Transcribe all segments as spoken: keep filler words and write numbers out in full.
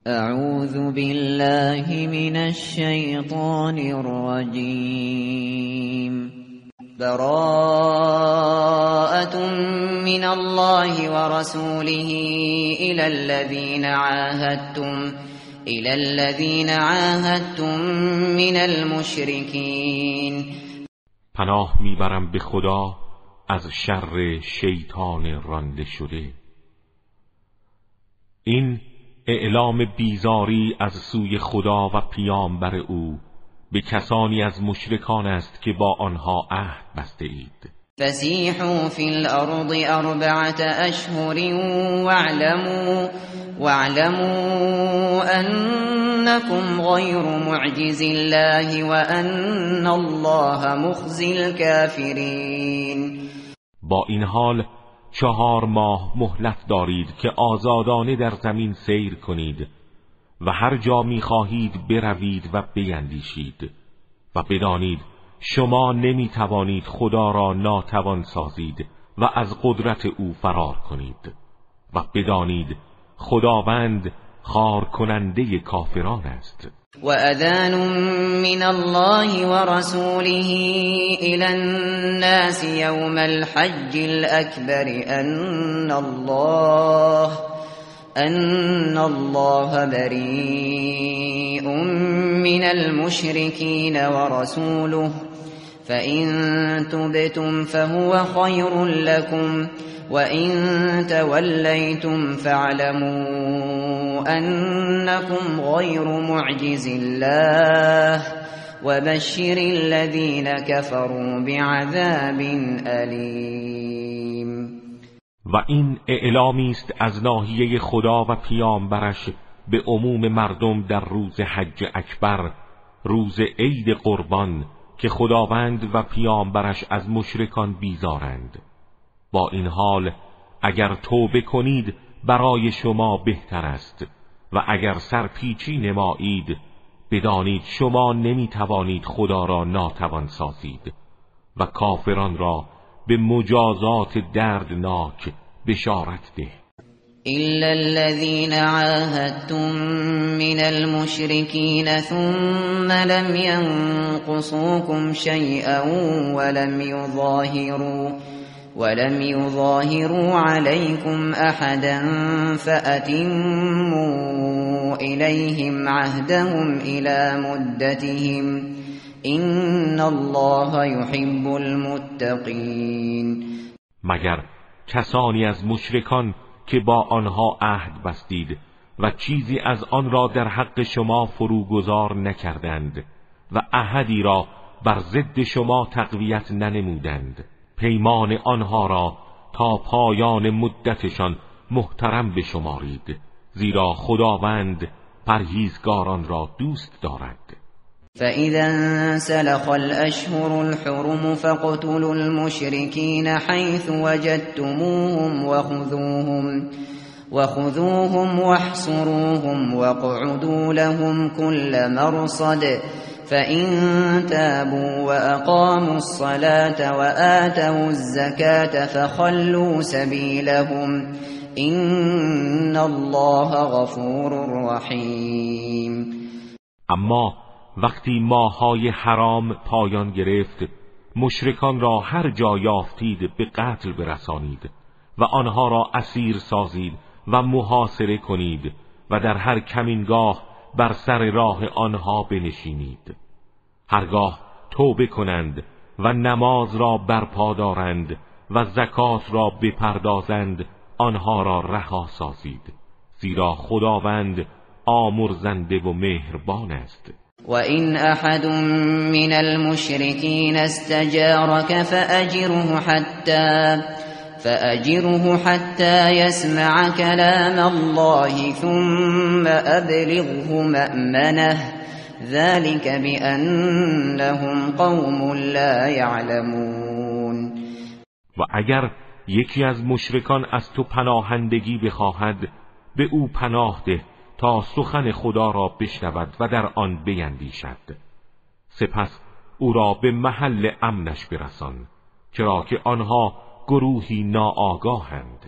اعوذ بالله من الشیطان الرجیم براءة من الله ورسوله إلى الذين عاهدتم إلى الذين عاهدتم من المشركين. پناه میبرم به خدا از شر شیطان رانده شده. این اعلام بیزاری از سوی خدا و پیامبر او به کسانی از مشرکان است که با آنها عهد بسته اید. فسیحوا فی الارض اربعة اشهر واعلموا واعلموا انکم غیر معجز الله وان الله مخزی الکافرین. با این حال چهار ماه مهلت دارید که آزادانه در زمین سیر کنید و هر جا می خواهید بروید و بیندیشید و بدانید شما نمی توانید خدا را ناتوان سازید و از قدرت او فرار کنید و بدانید خداوند خار کننده کافران است. وأذان من الله ورسوله إلى الناس يوم الحج الأكبر أن الله أن الله بريء من المشركين ورسوله فإن تبتم فهو خير لكم وإن توليتم فاعلموا أنكم غير معجز الله وبشر الذين كفروا بعذاب أليم. و این اعلامی است از ناحیه خدا و پیامبرش به عموم مردم در روز حج اکبر، روز عید قربان، که خداوند و پیامبرش از مشرکان بیزارند. با این حال اگر توبه کنید برای شما بهتر است و اگر سرپیچی نمایید بدانید شما نمی توانید خدا را ناتوان سازید و کافران را به مجازات دردناک بشارت ده. إلا الذين عاهدتم من المشركين ثم لم ينقصوكم شيئا ولم يظاهروا ولم يظاهروا عليكم أحدا فأتموا إليهم عهدهم إلى مدتهم إن الله يحب المتقين. مگر کسانی از مشرکان که با آنها عهد بستید و چیزی از آن را در حق شما فروگذار نکردند و عهدی را بر ضد شما تقویت ننمودند، پیمان آنها را تا پایان مدتشان محترم بشمارید، زیرا خداوند پرهیزگاران را دوست دارد. فَإِذَا انسَلَخَ الْأَشْهُرُ الْحُرُمُ فَاقْتُلُوا الْمُشْرِكِينَ حَيْثُ وَجَدتُّمُوهُمْ وَخُذُوهُمْ وَخُذُوهُمْ وَاحْصُرُوهُمْ وَاقْعُدُوا لَهُمْ كُلَّ مَرْصَدٍ فَإِن تَابُوا وَأَقَامُوا الصَّلَاةَ وَآتَوُا الزَّكَاةَ فَخَلُّوا سَبِيلَهُمْ إِنَّ اللَّهَ غَفُورٌ رَّحِيمٌ. اما وقتی ماه‌های حرام پایان گرفت مشرکان را هر جا یافتید به قتل برسانید و آنها را اسیر سازید و محاصره کنید و در هر کمینگاه بر سر راه آنها بنشینید. هرگاه توبه کنند و نماز را برپا دارند و زکات را بپردازند آنها را رها سازید، زیرا خداوند آمرزنده و مهربان است. وَإِنْ أَحَدٌ مِّنَ الْمُشْرِكِينَ اسْتَجَارَكَ فَأَجِرْهُ حَتَّى فَأَجِرْهُ حَتَّى يَسْمَعَ كَلَامَ اللَّهِ ثُمَّ أَبْلِغْهُ مَأْمَنَهُ ذَلِكَ بِأَنَّهُمْ قَوْمٌ لَّا يَعْلَمُونَ. و اگر یکی از مشرکان از تو پناهندگی بخواهد به او پناه ده تا سخن خدا را بشنود و در آن بیندیشد، سپس او را به محل امنش برسان، چرا که آنها گروهی ناآگاهند.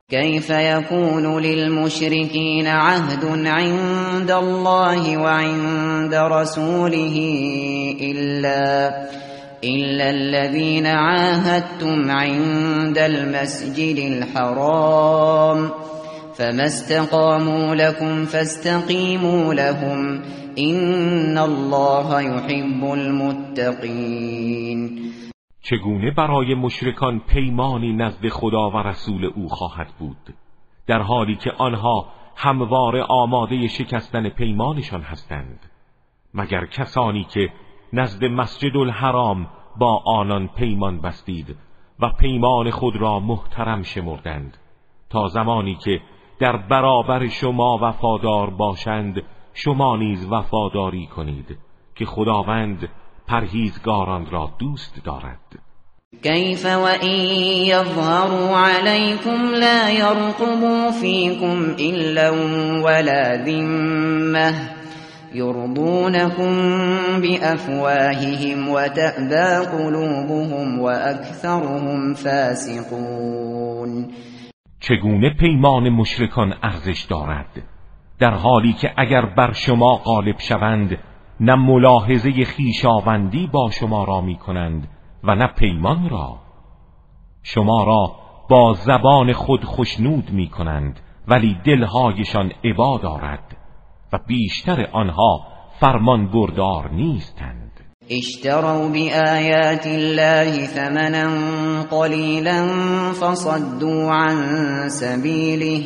كيف يكون للمشركين عهد عند الله وعند رسوله إلا إلا الذين عاهدتم عند المسجد الحرام فما استقاموا لكم فاستقيموا لهم إن الله يحب المتقین. چگونه برای مشرکان پیمانی نزد خدا و رسول او خواهد بود در حالی که آنها همواره آماده شکستن پیمانشان هستند، مگر کسانی که نزد مسجد الحرام با آنان پیمان بستید و پیمان خود را محترم شمردند تا زمانی که در برابر شما وفادار باشند شما نیز وفاداری کنید که خداوند پرهیزگاران را دوست دارد. کیف و این یظهروا علیکم لا یرقبوا فیکم الا ولا ذمه یرضونکم بافواههم وتأبى قلوبهم واکثرهم فاسقون. چگونه پیمان مشرکان ارزش دارد در حالی که اگر بر شما غالب شوند نه ملاحظه خویشاوندی با شما را می کنند و نه پیمان را. شما را با زبان خود خوشنود می کنند ولی دلهایشان عبا دارد و بیشتر آنها فرمان بردار نیستند. اشتروا بآیات الله ثمنا قلیلا فصدوا عن سبیله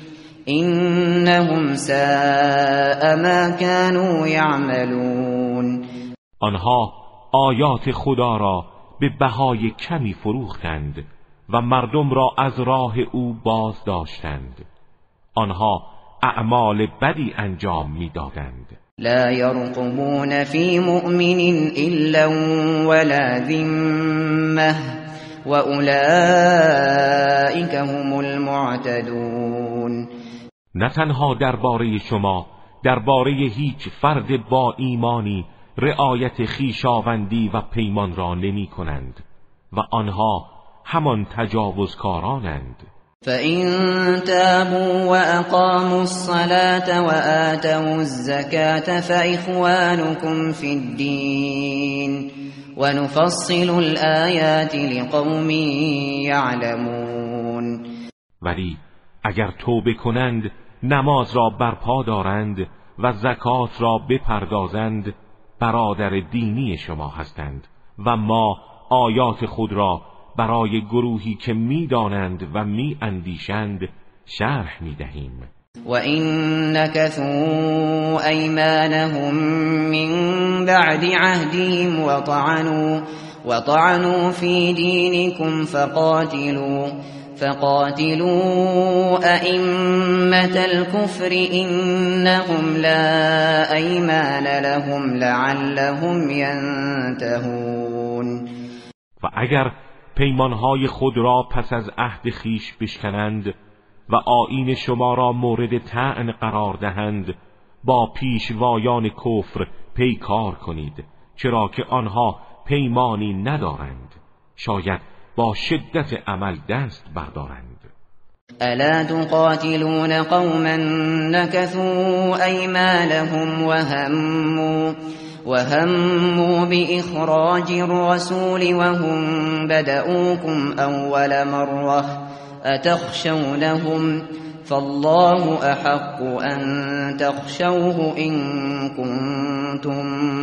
انهم ساء ما كانوا یعملون. آنها آیات خدا را به بهای کمی فروختند و مردم را از راه او باز داشتند. آنها اعمال بدی انجام میدادند. لا يرقبون في مؤمن الا ولا ذمه واولئك هم المعتدون. نه تنها درباره شما، درباره هیچ فرد با ایمانی رعایت خویشاوندی و پیمان را نمی کنند و آنها همان تجاوزکارانند. فَإِن تَابُوا وَأَقَامُوا الصَّلَاةَ وَآتَوُا الزَّكَاةَ فَإِخْوَانُكُمْ فِي الدِّينِ وَنُفَصِّلُ الْآيَاتِ لِقَوْمٍ يَعْلَمُونَ. ولی اگر توبه کنند، نماز را برپا دارند و زکات را بپردازند، برادر دینی شما هستند و ما آیات خود را برای گروهی که می‌دانند و می‌اندیشند شرح می‌دهیم. و این نکثوا ایمانهم من بعد عهدهم وطعنوا وطعنوا في دينكم فقاتلوا فقاتلوا أئمة الكفر إنهم لا أيمان لهم لعلهم ينتهون. و اگر پیمانهای خود را پس از عهد خیش بشکنند و آیین شما را مورد طعن قرار دهند، با پیشوایان کفر پیکار کنید، چرا که آنها پیمانی ندارند، شاید با شدت عمل دست بردارند. الا تقاتلون قوما نكثوا ایمانهم وهموا وهموا بإخراج الرسول وهم بدؤوكم أول مرة أتخشونهم فالله أحق أن تخشوه إن كنتم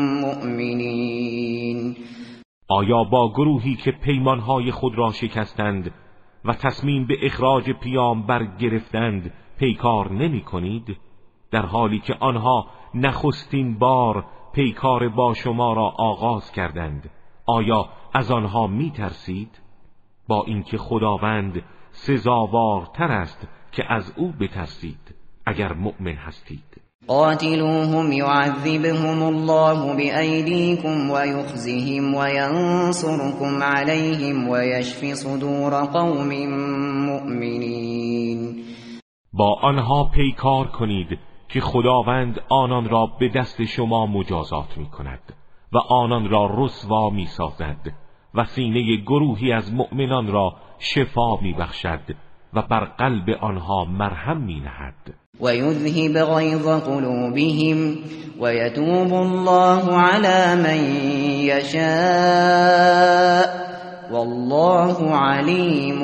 مؤمنين. آیا با گروهی که پیمانهای خود را شکستند و تصمیم به اخراج پیامبر گرفتند پیکار نمی کنید، در حالی که آنها نخستین بار پیکار با شما را آغاز کردند؟ آیا از آنها می ترسید؟ با اینکه خداوند سزاوارتر است که از او بترسید اگر مؤمن هستید. قاتلوهم يعذبهم الله بأيديكم ويخزهم وينصركم عليهم ويشفي صدور قوم مؤمنين. با آنها پیکار کنید که خداوند آنان را به دست شما مجازات می کند و آنان را رسوا می سازد و سینه گروهی از مؤمنان را شفا می بخشد و بر قلب آنها مرهم می‌نهد. ويذهب غيظ قلوبهم ويتوب الله على من يشاء والله علیم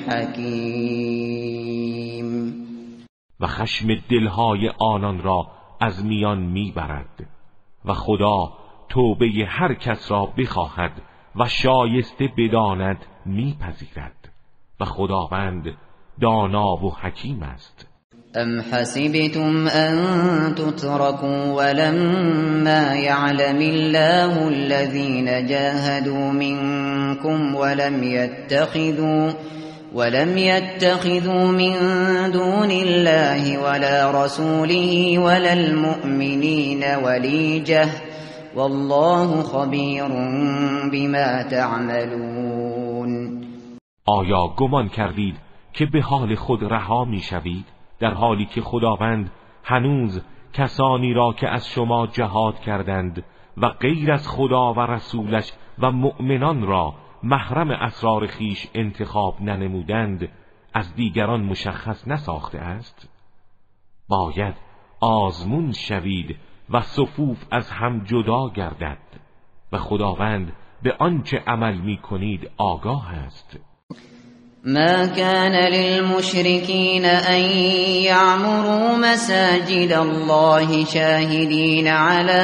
حکیم. و خشم دلهای آنان را از میان میبرد و خدا توبه هر کس را بخواهد و شایسته بداند میپذیرد و خداوند دانا و حکیم است. ام حسبتم ان تتركوا ولما يعلم الله الذين جاهدوا منكم ولم يتخذوا ولم يتخذوا من دون الله ولا رسوله ولا المؤمنين وليجة والله خبير بما تعملون. آیا گمان کردید که به حال خود رها میشوید در حالی که خداوند هنوز کسانی را که از شما جهاد کردند و غیر از خدا و رسولش و مؤمنان را محرم اسرار خیش انتخاب ننمودند از دیگران مشخص نساخته است؟ باید آزمون شوید و صفوف از هم جدا گردد و خداوند به آنچه عمل می کنید آگاه است. ما كان للمشركين أن يعمروا مساجد الله شاهدين على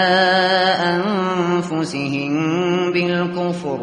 أنفسهم بالكفر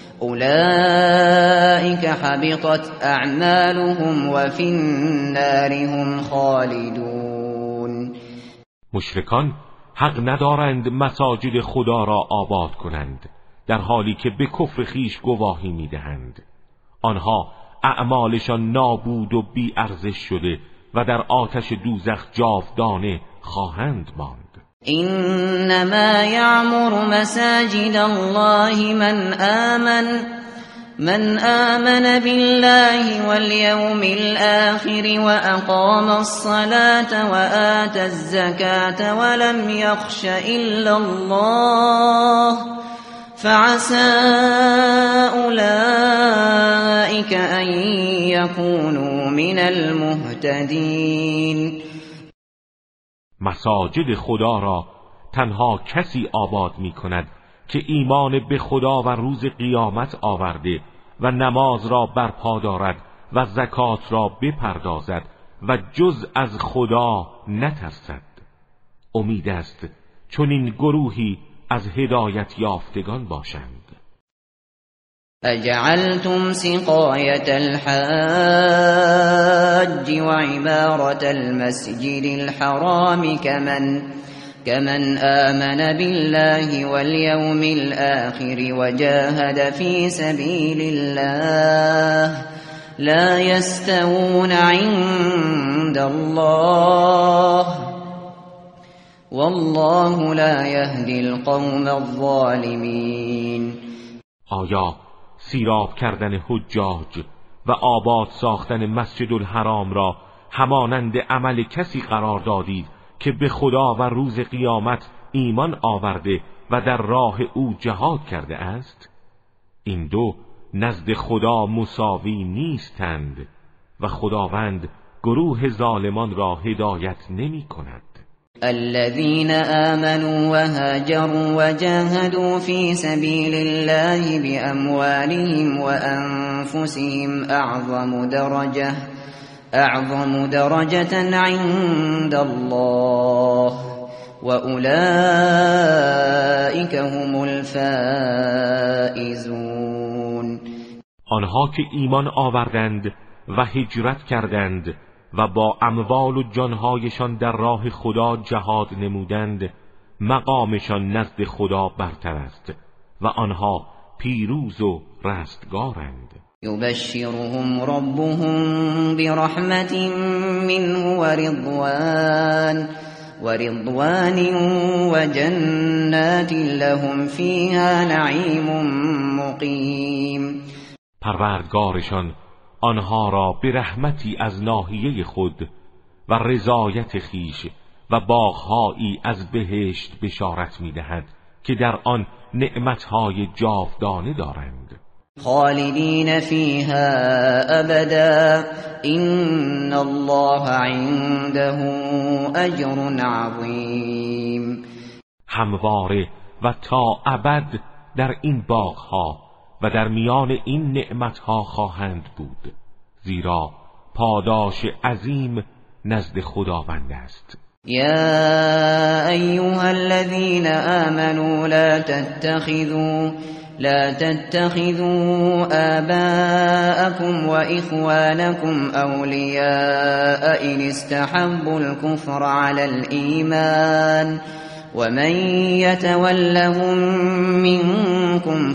أولئك حبطت أعمالهم وفي النار هم خالدون. مشرکان حق ندارند مساجد خدا را آباد کنند در حالی که به کفر خیش گواهی میدهند. آنها اعمالشان نابود و بی ارزش شده و در آتش دوزخ جاودانه خواهند ماند. انما یعمر مساجد الله من آمن من آمن بالله واليوم الآخر وأقام الصلاة وآتى الزكاة ولم يخش إلا الله فعسى أولئك أن يكونوا من المهتدين. مساجد خدا را تنها کسی آباد می کند که ایمان به خدا و روز قیامت آورده و نماز را برپا دارد و زکات را بپردازد و جز از خدا نترسد. امید است چون این گروهی از هدایت یافتگان باشند. اجعلتم سقایت الحاج وعمارة المسجد الحرام كمن كمن آمن بالله واليوم الآخر وجاهد في سبيل الله لا يستوون عند الله والله لا يهدي القوم الظالمين. آیا سیراب کردن حجاج و آباد ساختن مسجد الحرام را همانند عمل کسی قرار دادید که به خدا و روز قیامت ایمان آورده و در راه او جهاد کرده است؟ این دو نزد خدا مساوی نیستند و خداوند گروه ظالمان را هدایت نمی کند. الذين آمنوا وهاجروا وجاهدوا في سبيل الله بأموالهم وأنفسهم أعظم درجة أعظم درجة عند الله وأولئك هم الفائزون. آنها که ایمان آوردند و هجرت کردند و با اموال و جانهایشان در راه خدا جهاد نمودند مقامشان نزد خدا برتر است و آنها پیروز و رستگارند. یبشرهم ربهم برحمت منه ورضوان ورضوان وجنات لهم فيها نعیم مقیم. پروردگارشان آنها را به رحمتی از ناحیه خود و رضایت خیش و باغهایی از بهشت بشارت می‌دهد که در آن نعمتهای جاودانه دارند. خالدین فیها ابدا ان الله عنده اجر عظیم. همواره و تا ابد در این باغها و در میان این نعمتها خواهند بود، زیرا پاداش عظیم نزد خداوند است. یا ایها الذین آمنوا لا تتخذوا لا تتخذوا آباءكم وإخوانكم أولياء إن استحبوا الكفر على الإيمان ومن يتولهم منكم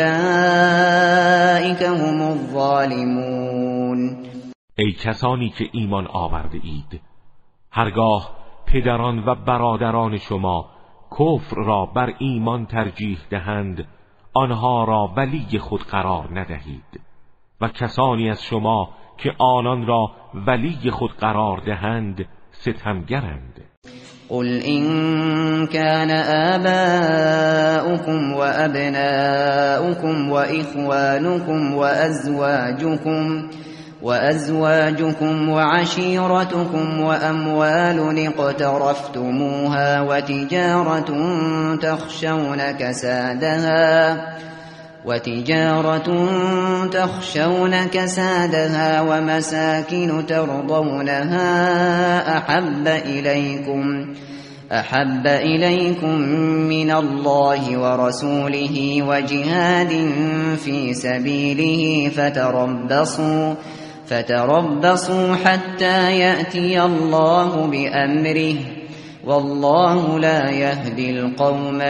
فأولئك هم الظالمون. ای کسانی که ایمان آورده اید، هرگاه پدران و برادران شما کفر را بر ایمان ترجیح دهند، آنها را ولی خود قرار ندهید و کسانی از شما که آنان را ولی خود قرار دهند ستمگرند. قل إن كان آباؤكم وأبناؤكم وإخوانكم وأزواجكم وأزواجكم وعشيرتكم وأموال اقترفتموها وتجارة تخشون كسادها وتجارة تخشون كسادها ومساكن ترضونها أحب إليكم أحب إليكم من الله ورسوله وجهاد في سبيله فتربصوا فتربصوا حتى يأتي الله بأمره والله لا يهدي القوم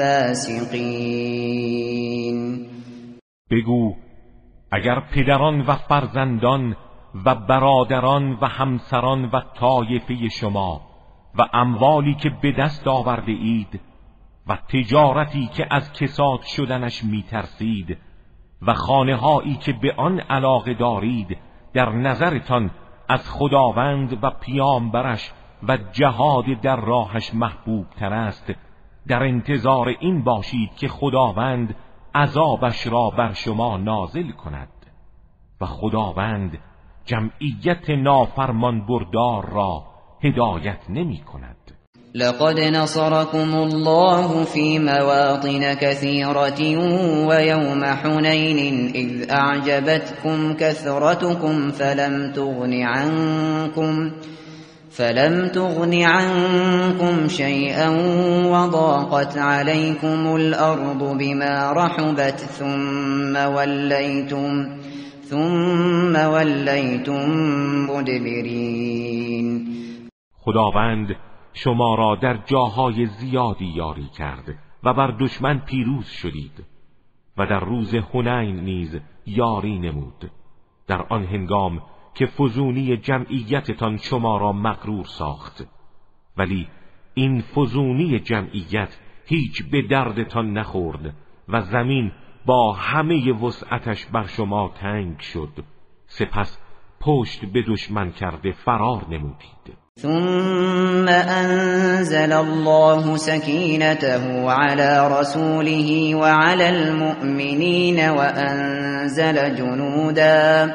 الفاسقين. بگو اگر پدران و فرزندان و برادران و همسران و طایفه شما و اموالی که به دست آورده اید و تجارتی که از کساد شدنش میترسید و خانه‌هایی که به آن علاقه دارید در نظرتان از خداوند و پیامبرش و جهاد در راهش محبوب تر است، در انتظار این باشید که خداوند عذابش را بر شما نازل کند و خداوند جمعیت نافرمان بردار را هدایت نمی کند. لقد نصركم الله في مواطن كثيرة ويوم حنين إذ أعجبتكم كثرتكم فلم تغن عنكم فلم تغن عنكم شيئا وضاقت عليكم الأرض بما رحبت ثم وليتم ثم وليتم مدبرين. خداوند شما را در جاهای زیادی یاری کرد و بر دشمن پیروز شدید و در روز حنین نیز یاری نمود، در آن هنگام که فزونی جمعیتتان شما را مغرور ساخت، ولی این فزونی جمعیت هیچ به دردتان نخورد و زمین با همه وسعتش بر شما تنگ شد، سپس پشت به دشمن کرده فرار نمودید. ثم أنزل الله سكينته على رسوله وعلى المؤمنين وأنزل جنودا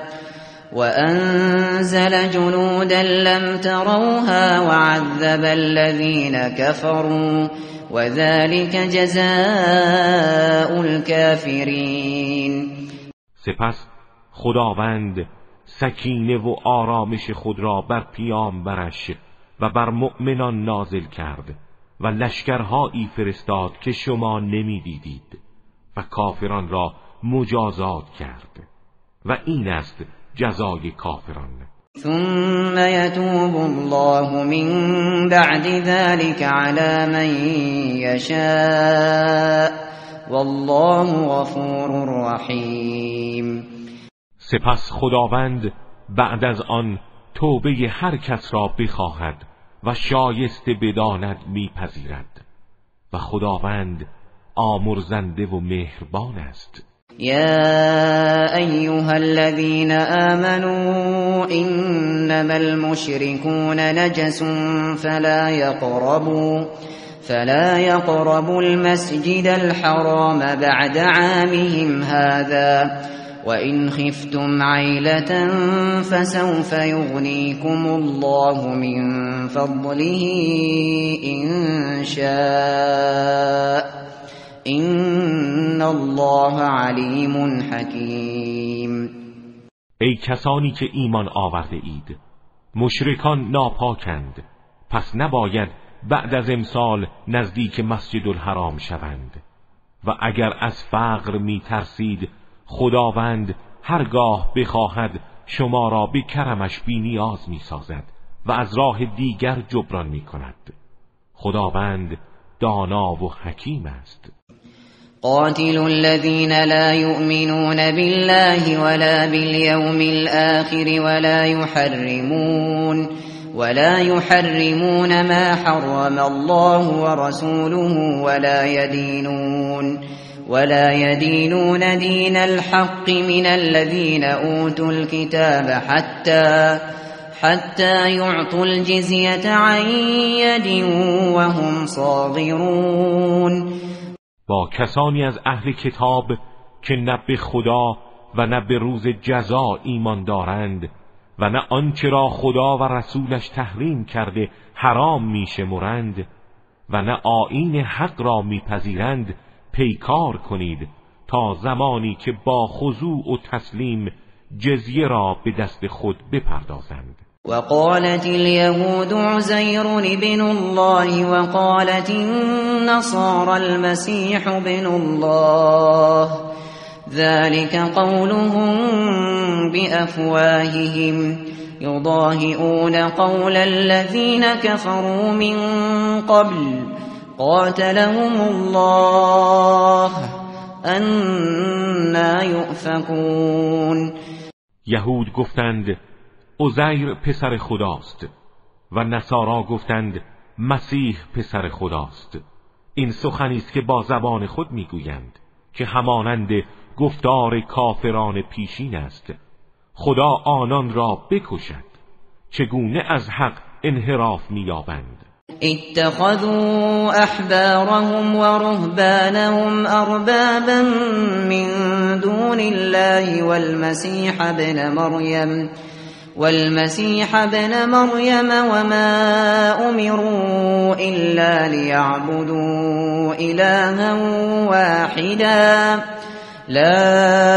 وأنزل جنودا لم تروها وعذب الذين كفروا وذلك جزاء الكافرين. سپس خداوند سکینه و آرامش خود را بر پیامبرش و بر مؤمنان نازل کرد و لشکرهایی فرستاد که شما نمی‌دیدید و کافران را مجازات کرد و این است جزای کافران. ثم يتوب الله من بعد ذلك على من يشاء والله غفور رحیم. سپس خداوند بعد از آن توبه هر کس را بخواهد و شایسته بداند میپذیرد و خداوند آمرزنده و مهربان است. يا أيها الذين آمنوا إنما المشركون نجس فلا يقربوا فلا يقربوا المسجد الحرام بعد عامهم هذا وإن خفتم عيلة فسوف يغنيكم الله من فضله إن شاء إن الله علیم حکیم. ای کسانی که ایمان آورده اید، مشرکان ناپاکند، پس نباید بعد از امسال نزدیک مسجد الحرام شوند. و اگر از فقر می ترسید، خداوند هرگاه بخواهد شما را به کرمش بی نیاز می سازد و از راه دیگر جبران می کند. خداوند دانا و حکیم است. قاتلوا الذين لا يؤمنون بالله ولا باليوم الآخر ولا يحرمون ولا يحرمون ما حرم الله ورسوله ولا يدينون ولا يدينون دين الحق من الذين أوتوا الكتاب حتى حتى يعطوا الجزية عن يد وهم صاغرون. با کسانی از اهل کتاب که نه به خدا و نه به روز جزا ایمان دارند و نه آنچه را خدا و رسولش تحریم کرده حرام میشمرند و نه آیین حق را میپذیرند، پیکار کنید تا زمانی که با خضوع و تسلیم جزیه را به دست خود بپردازند. وقالت اليهود عزير ابن الله وقالت النصارى المسيح ابن الله ذلك قولهم بأفواههم يضاهئون قول الذين كفروا من قبل قاتلهم الله أنا يؤفكون. یهود گفتند عزیر پسر خداست و نصارا گفتند مسیح پسر خداست. این سخنی است که با زبان خود میگویند که همانند گفتار کافران پیشین است. خدا آنان را بکشد. چگونه از حق انحراف می‌یابند؟ اتخذوا احبارهم ورهبانهم اربابا من دون الله والمسيح ابن مريم والمسيح ابن مريم وما أمروا إلا ليعبدوا إلها واحدا لا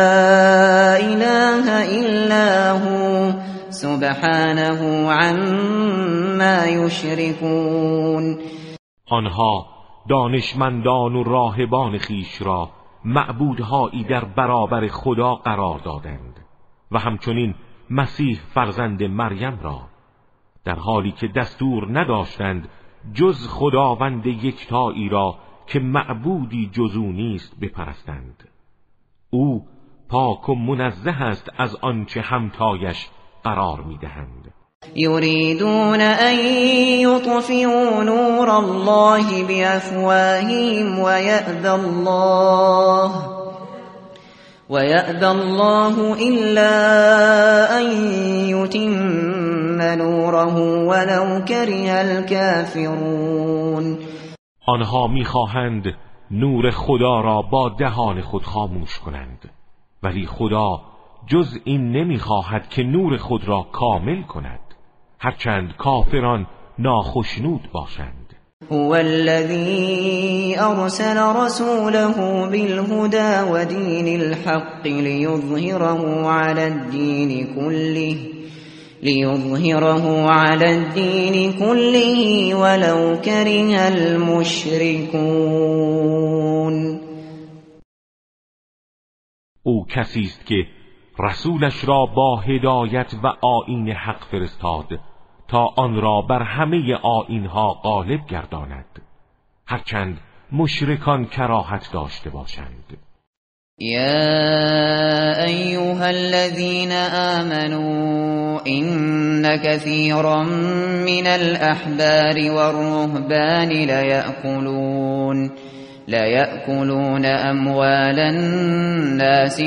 إله إلا هو سبحانه عما يشركون. آنها دانشمندان و راهبان خیش را معبودهایی در برابر خدا قرار دادند و همچنین مسیح فرزند مریم را، در حالی که دستور نداشتند جز خداوند یکتایی را که معبودی جز او نیست بپرستند. او پاک و منزه است از آنچه همتایش قرار میدهند. یریدون ان یطفئوا نور الله بافواههم ویأبی الله وَيَأْبَى اللَّهُ إِلَّا أَن يُتِمَّ نُورَهُ وَلَوْ كَرِهَ الْكَافِرُونَ. آنها می‌خواهند نور خدا را با دهان خود خاموش کنند، ولی خدا جز این نمی‌خواهد که نور خود را کامل کند، هرچند کافران ناخشنود باشند. هو الذي أرسل رسوله بالهدى ودين الحق ليظهره على الدين كله ليظهره على الدين كله ولو كره المشركون. او کسی است که رسولش را با هدایت و آیین حق فرستاد تا آن را بر همه آیین‌ها غالب گرداند، هرچند مشرکان کراهت داشته باشند. یا ایها الذین آمنوا ان كثيرا من الاحبار والرهبان ليأكلون ليأكلون اموال الناس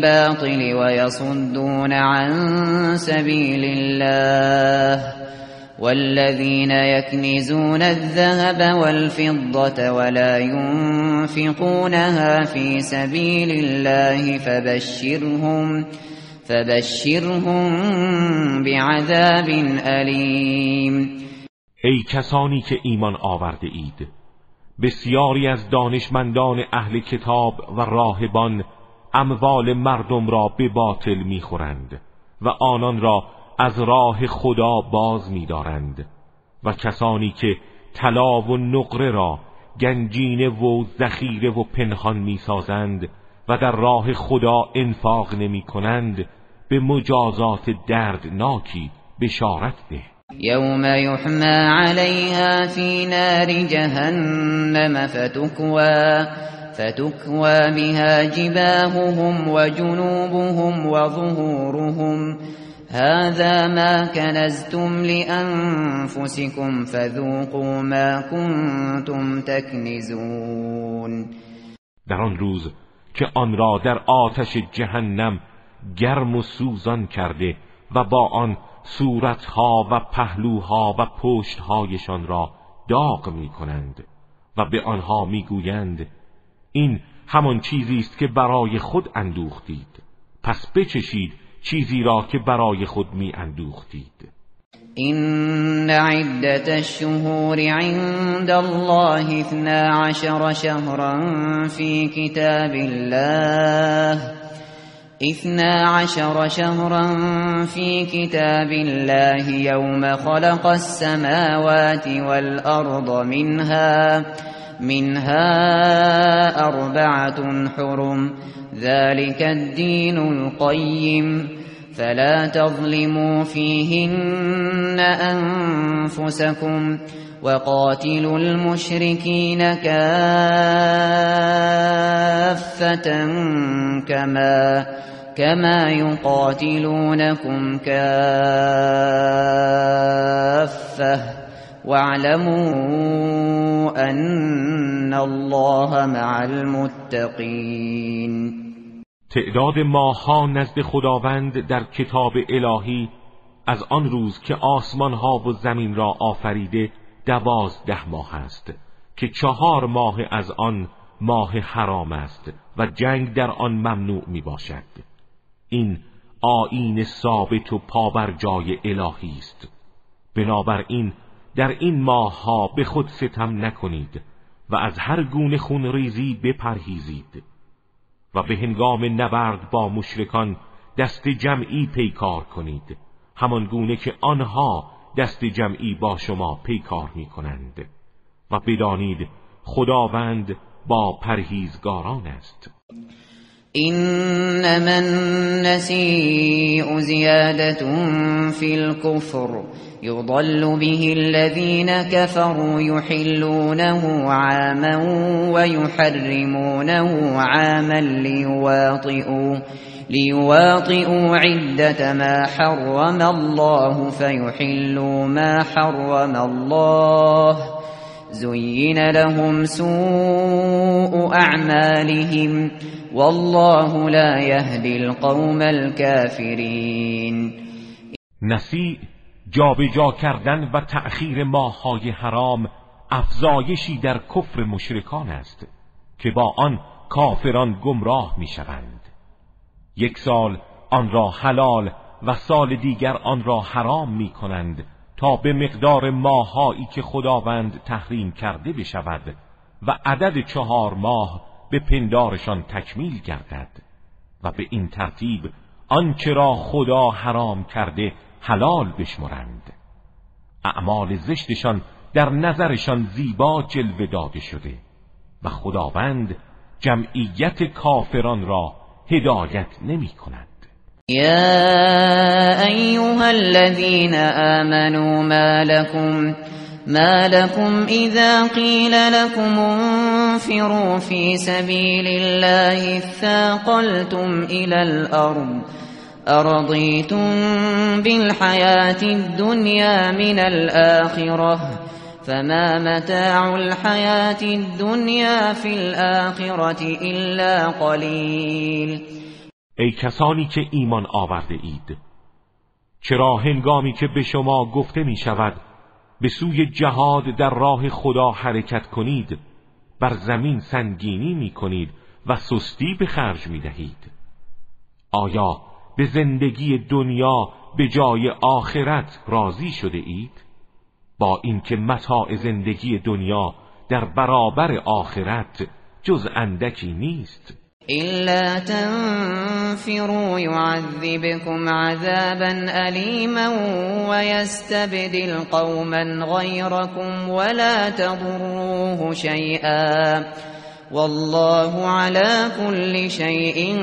بالباطل ويصدون عن سبيل الله والذين يكنزون الذهب والفضة ولا ينفقونها في سبيل الله فبشرهم فبشرهم بعذاب علیم. ای کسانی که ایمان آورده اید، بسیاری از دانشمندان اهل کتاب و راهبان اموال مردم را به باطل میخورند و آنان را از راه خدا باز می‌دارند و کسانی که طلا و نقره را گنجینه و ذخیره و پنهان می‌سازند و در راه خدا انفاق نمی‌کنند به مجازات دردناکی بشارت ده. یوم یحمى علیها فی نار جهنم فتکوی فتکوی بها جباههم و جنوبهم و ظهورهم هذا ما کنزتم لأنفسكم فذوقوا ما کنتم تکنزون. در آن روز که آن را در آتش جهنم گرم و سوزان کرده و با آن صورتها و پهلوها و پشتهایشان را داغ می کنند و به آنها می گویند این همان چیزی است که برای خود اندوختید، پس بچشید چیزی را که برای خود می اندوختید. این عدت الشهور عند الله اثنا عشر شهرا في كتاب الله اثنا عشر شهرا في كتاب الله يوم خلق السماوات والأرض منها منها أربعة حرم ذلك الدين القيم فلا تظلموا فيهن أنفسكم وقاتلوا المشركين كافة كما كما يقاتلونكم كافة واعلموا أن الله مع المتقين. تعداد ماه‌ها نزد خداوند در کتاب الهی از آن روز که آسمان‌ها و زمین را آفریده دوازده ماه است که چهار ماه از آن ماه حرام است و جنگ در آن ممنوع می باشد. این آیین ثابت و پابرجای الهی است. بنابراین در این ماه‌ها به خود ستم نکنید و از هر گونه خونریزی بپرهیزید و به هنگام نبرد با مشرکان دست جمعی پیکار کنید، همان گونه که آنها دست جمعی با شما پیکار می کنند و بدانید خداوند با پرهیزگاران است. انما النسیء زیادة فی الكفر یضل به الذین كفروا یحلونه عاما ويحرمونه عاما ليواطئوا ليواطئوا عدة ما حرم الله فيحلوا ما حرم الله زين لهم سوء أعمالهم والله لا يهدي القوم الكافرين. نسیع جابجا کردن و تأخیر ماه‌های حرام افزایشی در کفر مشرکان است که با آن کافران گمراه می‌شوند. یک سال آن را حلال و سال دیگر آن را حرام می کنند تا به مقدار ماهایی که خداوند تحریم کرده بشود و عدد چهار ماه به پندارشان تکمیل گردد و به این ترتیب آنچه را خدا حرام کرده حلال بشمرند. اعمال زشتشان در نظرشان زیبا جلوه داده شده و خداوند جمعیت کافران را هدایت نمی کند. یا ایها الذین آمنوا ما لكم ما لكم اذا قیل لكم انفروا في سبیل الله اثاقلتم الى الارض ارضیتم بالحیاة الدنیا من الآخرة فما متاع الحیاة الدنیا فی الآخرة الا قلیل. ای کسانی که ایمان آورده اید، چرا هنگامی که به شما گفته می شود به سوی جهاد در راه خدا حرکت کنید بر زمین سنگینی می کنید و سستی به خرج می دهید؟ آیا به زندگی دنیا به جای آخرت راضی شده اید؟ با اینکه متاع زندگی دنیا در برابر آخرت جز اندکی نیست. إلا تنفروا يعذبكم عذابا أليما ويستبدل قوما غيركم ولا تضروه شيئا والله على كل شيء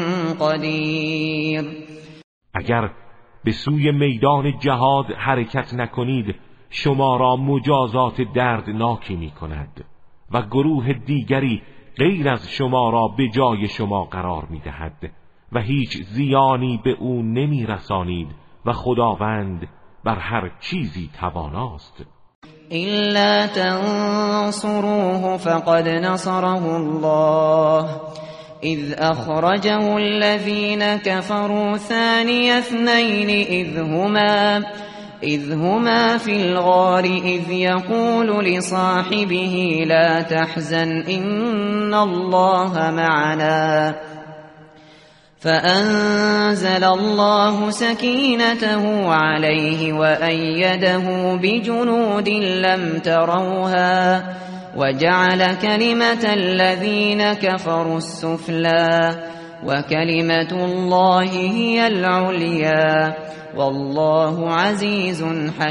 قدير. اگر به سوی میدان جهاد حرکت نکنید شما را مجازات دردناکی می کند و گروه دیگری غیر از شما را به جای شما قرار می دهد و هیچ زیانی به او نمی رسانید و خداوند بر هر چیزی تواناست. إلا تنصروه فقد نصره الله إذ أخرجه الذين كفروا ثاني اثنين إذ هما إذ هما في الغار إذ يقول لصاحبه لا تحزن إن الله معنا فأنزل الله سكينته عليه وأيده بجنود لم تروها وجعل كلمة الذين كفروا السفلى وكلمة الله هي العليا والله عزیز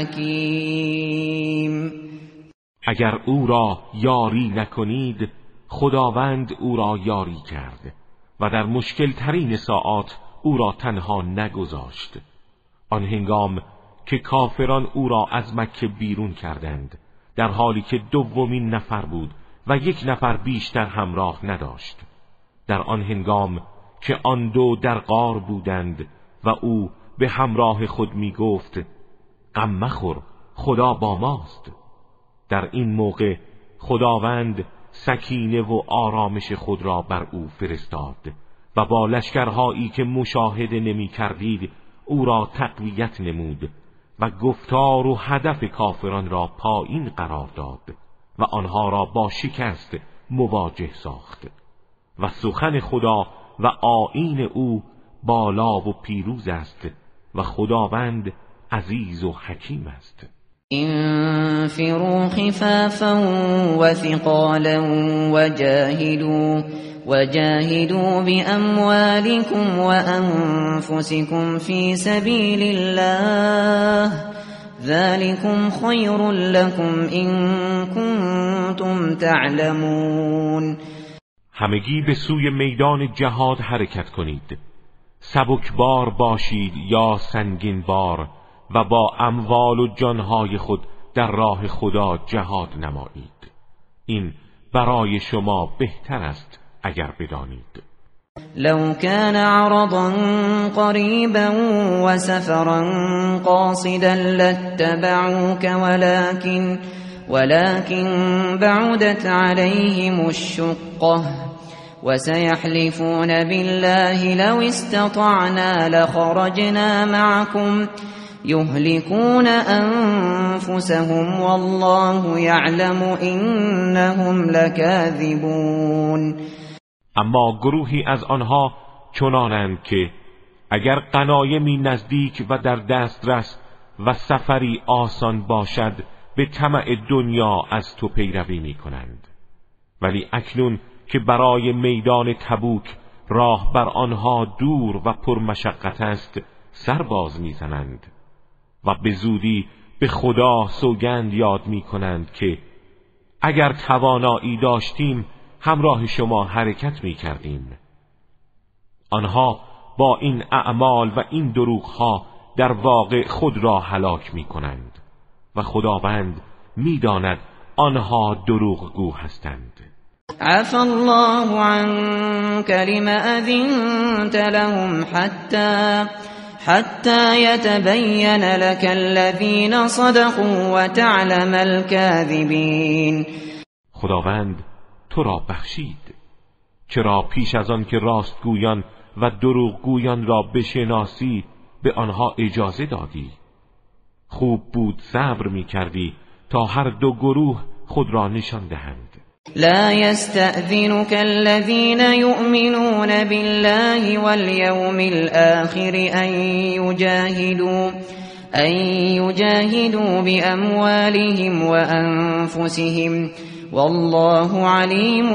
حکیم. اگر او را یاری نکنید خداوند او را یاری کرد و در مشکل ترین ساعات او را تنها نگذاشت. آن هنگام که کافران او را از مکه بیرون کردند در حالی که دومین نفر بود و یک نفر بیشتر همراه نداشت، در آن هنگام که آن دو در غار بودند و او به همراه خود می گفت غم مخور خدا با ماست، در این موقع خداوند سکینه و آرامش خود را بر او فرستاد و با لشکرهایی که مشاهده نمی کردید او را تقویت نمود و گفتار و هدف کافران را پایین قرار داد و آنها را با شکست مواجه ساخت و سخن خدا و آیین او بالا و پیروز است و خداوند عزیز و حکیم است. انفروا خفافا وثقالا وجاهدوا وجاهدوا بأموالكم وأنفسكم في سبيل الله ذلكم خير لكم إن كنتم تعلمون. همگی به سوی میدان جهاد حرکت کنید، سبکبار باشید یا سنگین بار و با اموال و جانهای خود در راه خدا جهاد نمایید. این برای شما بهتر است اگر بدانید. لو كان عرضا قريبا وسفرا قاصدا لاتبعوك ولكن ولكن بعدت عليهم الشقة وسيحلفون بالله لو استطعنا لخرجنا معكم يهلكون أنفسهم والله يعلم إنهم لكاذبون. اما گروهی از آنها چنانند که اگر غنایمی نزدیک و در دسترس و سفری آسان باشد به طمع دنیا از تو پیروی می کنند، ولی اکنون که برای میدان تبوک راه بر آنها دور و پرمشقت است سرباز می زنند و به زودی به خدا سوگند یاد می کنند که اگر توانایی داشتیم همراه شما حرکت می کردیم. آنها با این اعمال و این دروغها در واقع خود را هلاک می کنند و خداوند می داند آنها دروغگو هستند. عفى الله عنك لما أذنت لهم حتى حتى يتبين لك الذين صدقوا وتعلم الكاذبين. خداوند تو را بخشید چرا پیش از آن که راستگویان و دروغگویان را بشناسی به آنها اجازه دادی خوب بود صبر می کردی تا هر دو گروه خود را نشان دهند. لا يستأذنك الذين يؤمنون بالله واليوم الآخر أن يجاهدوا أن يجاهدوا بأموالهم وأنفسهم والله عليم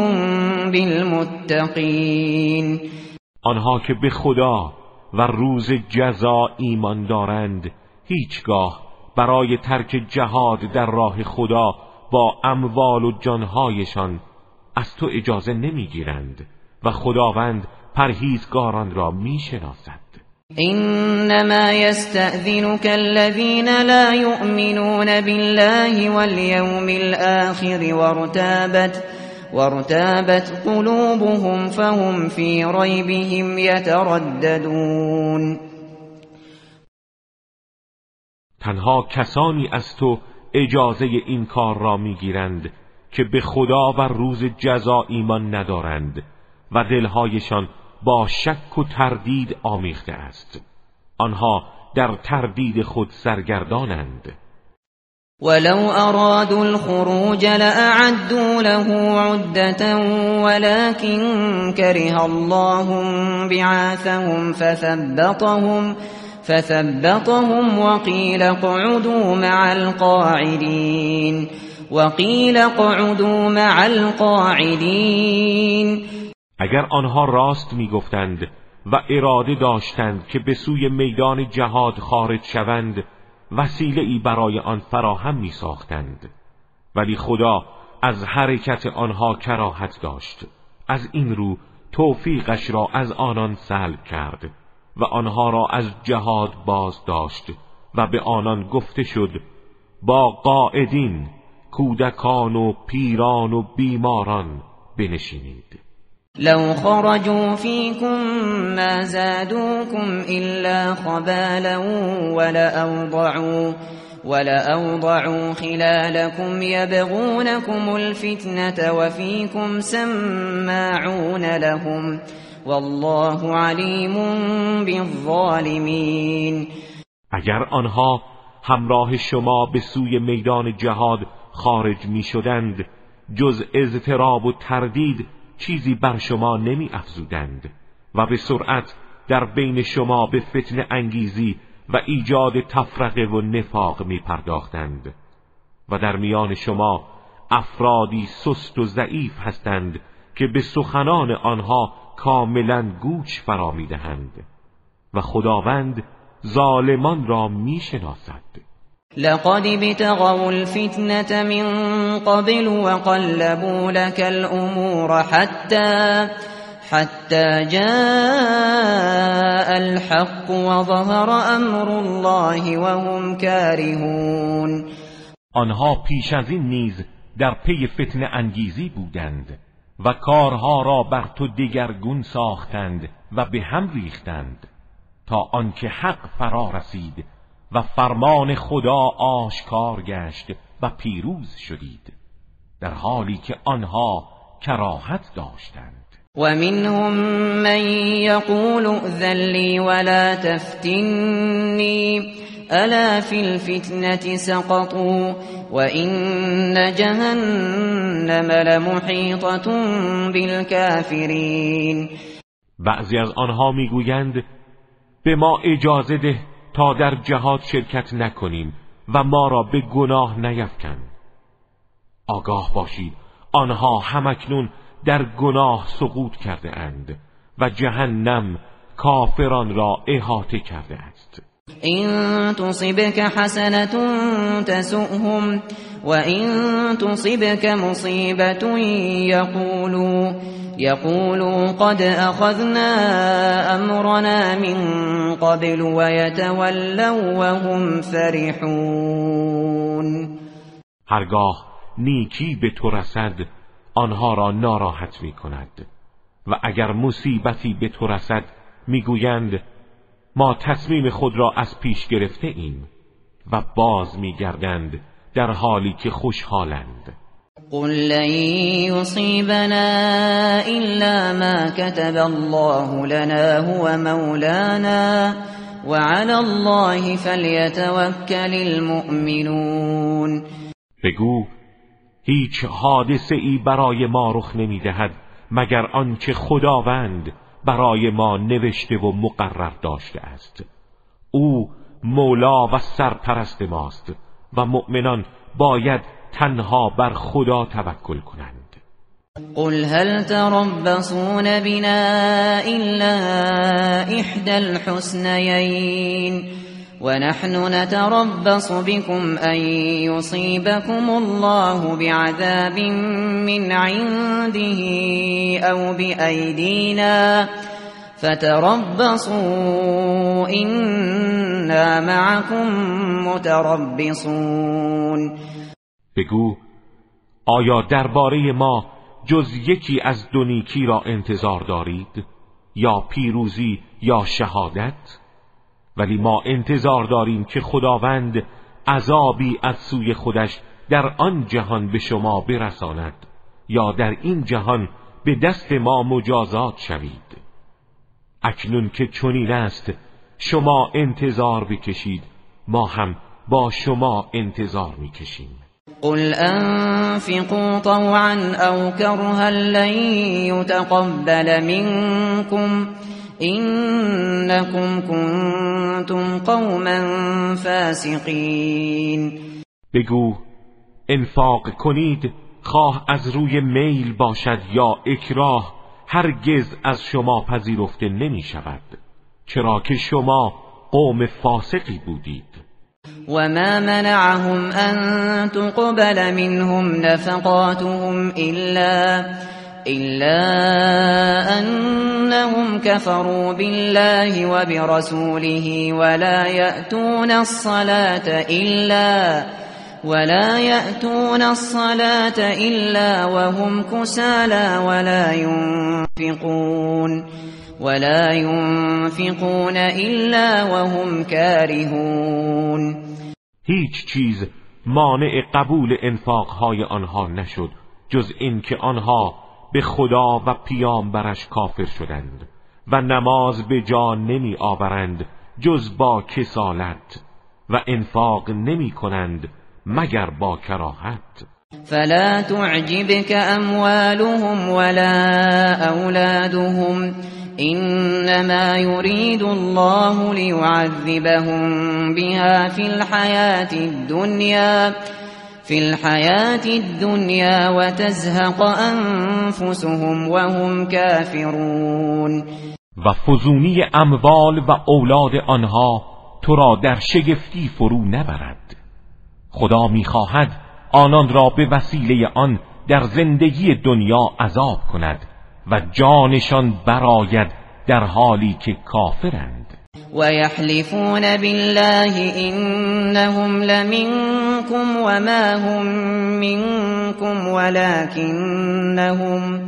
بالمتقين. آنها که به خدا و روز جزا ایمان دارند هیچگاه برای ترک جهاد در راه خدا با اموال و جانهایشان از تو اجازه نمیگیرند و خداوند پرهیزگاران را میشناسد. انما يستأذنك الذين لا يؤمنون بالله واليوم الآخر وارتابت وارتابت قلوبهم فهم في ريبهم يترددون. تنها کسانی از تو اجازه این کار را میگیرند که به خدا و روز جزا ایمان ندارند و دلهایشان با شک و تردید آمیخته است. آنها در تردید خود سرگردانند. ولو ارادوا الخروج لأعدوا له عدة ولكن كره الله بعاثهم فثبطهم فثبطهم وقيل اقعدوا مع القاعدين وقيل اقعدوا مع القاعدين. اگر آنها راست میگفتند و اراده داشتند که به سوی میدان جهاد خارج شوند وسیله ای برای آن فراهم می ساختند، ولی خدا از حرکت آنها کراهت داشت. از این رو توفیقش را از آنان سلب کرد و آنها را از جهاد باز داشت و به آنان گفته شد با قاعدین، کودکان و پیران و بیماران بنشینید. لو خرجوا فيكم ما زادوكم إلا خبالا ولأوضعوا, ولأوضعوا خلالكم يبغونكم الفتنة وفيكم سماعون لهم والله عليم بالظالمين. اگر آنها همراه شما به سوی میدان جهاد خارج می شدند جز اضطراب و تردید چیزی بر شما نمی افزودند و به سرعت در بین شما به فتنه انگیزی و ایجاد تفرقه و نفاق می پرداختند و در میان شما افرادی سست و ضعیف هستند که به سخنان آنها کاملا گوش فرا می دهند و خداوند ظالمان را می شناسد. لقد ابتغوا الفتنة من قبل وقلبوا لك الأمور حتى حتى جاء الحق وظهر أمر الله وهم كارهون. آنها پیش از این نیز در پی فتنه انگیزی بودند و کارها را بر تو دگرگون ساختند و به هم ریختند تا آنکه حق فرا رسید و فرمان خدا آشکار گشت و پیروز شدید، در حالی که آنها کراهت داشتند. و منهم من یقول ائذن لی ولا تفتنی الا فی الفتنة سقطوا و این جهنم لمحیطة بالکافرین. بعضی از آنها میگویند به ما اجازه ده تا در جهاد شرکت نکنیم و ما را به گناه نیفکن. آگاه باشید آنها همکنون در گناه سقوط کرده اند و جهنم کافران را احاطه کرده است. این تصبک حسنة تسؤهم و این تصبک مصیبت یقولوا يقولوا قد أخذنا أمرنا من قبل ويتولوا وهم فرحون. هرگاه نیکی به تو رسد آنها را ناراحت می کند و اگر مصیبتی به تو رسد می گویند ما تصمیم خود را از پیش گرفته ایم و باز می گردند در حالی که خوشحالند. قل لن يصيبنا إلا ما كتب الله لنا هو مولانا وعلى الله فلیتوکل المؤمنون. بگو هیچ حادثه ای برای ما رخ نمی دهد مگر آنچه خداوند برای ما نوشته و مقرر داشته است. او مولا و سرپرست ماست و مؤمنان باید تنها بر خدا توکل کنند. قل هل تربصون بنا إلا إحدى الحسنيين ونحن نتربص بكم أن يصيبكم الله بعذاب من عنده أو بأيدينا فتربصوا إنا معكم متربصون. بگو آیا درباره ما جز یکی از دو نیکی را انتظار دارید، یا پیروزی یا شهادت؟ ولی ما انتظار داریم که خداوند عذابی از سوی خودش در آن جهان به شما برساند یا در این جهان به دست ما مجازات شوید. اکنون که چنین است شما انتظار بکشید، ما هم با شما انتظار میکشیم. قل انفقوا طوعا او کرها لن يتقبل منكم انكم كنتم قوما فاسقین. بگو انفاق کنید، خواه از روی میل باشد یا اکراه، هرگز از شما پذیرفته نمی شود، چرا که شما قوم فاسقی بودید. وما منعهم أن تقبل منهم نفقاتهم إلا إلا أنهم كفروا بالله وبرسوله ولا يأتون الصلاة إلا ولا يأتون الصلاة إلا وهم كسالى ولا ينفقون ولا ينفقون إلا وهم كارهون. هیچ چیز مانع قبول انفاقهای آنها نشد جز این که آنها به خدا و پیامبرش کافر شدند و نماز به جا نمی آورند جز با کسالت و انفاق نمی کنند مگر با کراهت. فلا تعجبك اموالهم ولا اولادهم انما يريد الله ليعذبهم بها في الحياة الدنيا في الحياة الدنيا وتزهق انفسهم وهم كافرون. و فزونی اموال و اولاد آنها تو را در شگفتی فرو نبرد. خدا می‌خواهد آنان را به وسیله آن در زندگی دنیا عذاب کند و جانشان براید در حالی که کافرند. و یحلفون بالله انهم لمنکم وما هم منکم ولكنهم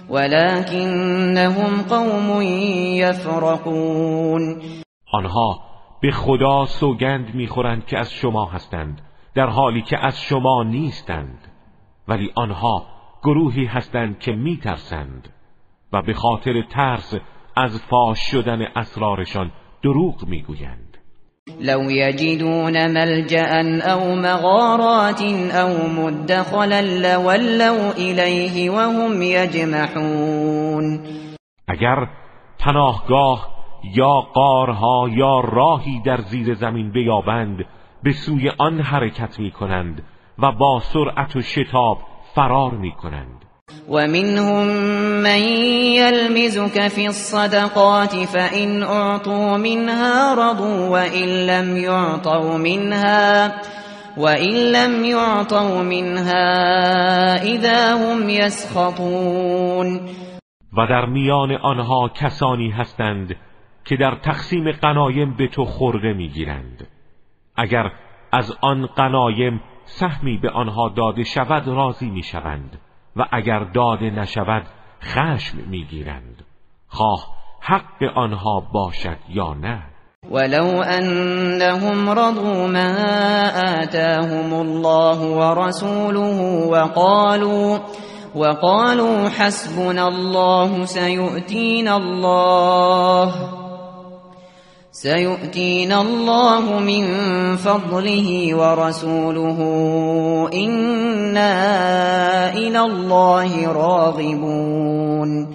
ولكنهم قوم یفرقون. آنها به خدا سوگند میخورند که از شما هستند در حالی که از شما نیستند، ولی آنها گروهی هستند که میترسند و به خاطر ترس از فاش شدن اسرارشان دروغ میگویند. لو یجدون ملجأ او مغارات او مدخلا لولوا الیه وهم یجمحون. اگر پناهگاه یا غارها یا راهی در زیر زمین بیابند به سوی آن حرکت می کنند و با سرعت و شتاب فرار می کنند. و منهم من یلمزک فی الصدقات فإن اعطوا منها رضوا وإن لم يعطوا منها وإن لم يعطوا منها اذا هم یسخطون. و در میان آنها کسانی هستند که در تقسیم غنایم به تو خرده میگیرند. اگر از آن غنایم سهمی به آنها داده شود راضی میشوند و اگر داده نشود خشم میگیرند، خواه حق آنها باشد یا نه. ولو انهم رضوا ما آتاهم الله ورسوله وقالوا وقالوا حسبنا الله سيؤتينا الله سيؤتينا الله من فضله ورسوله إنا إلى الله راغبون.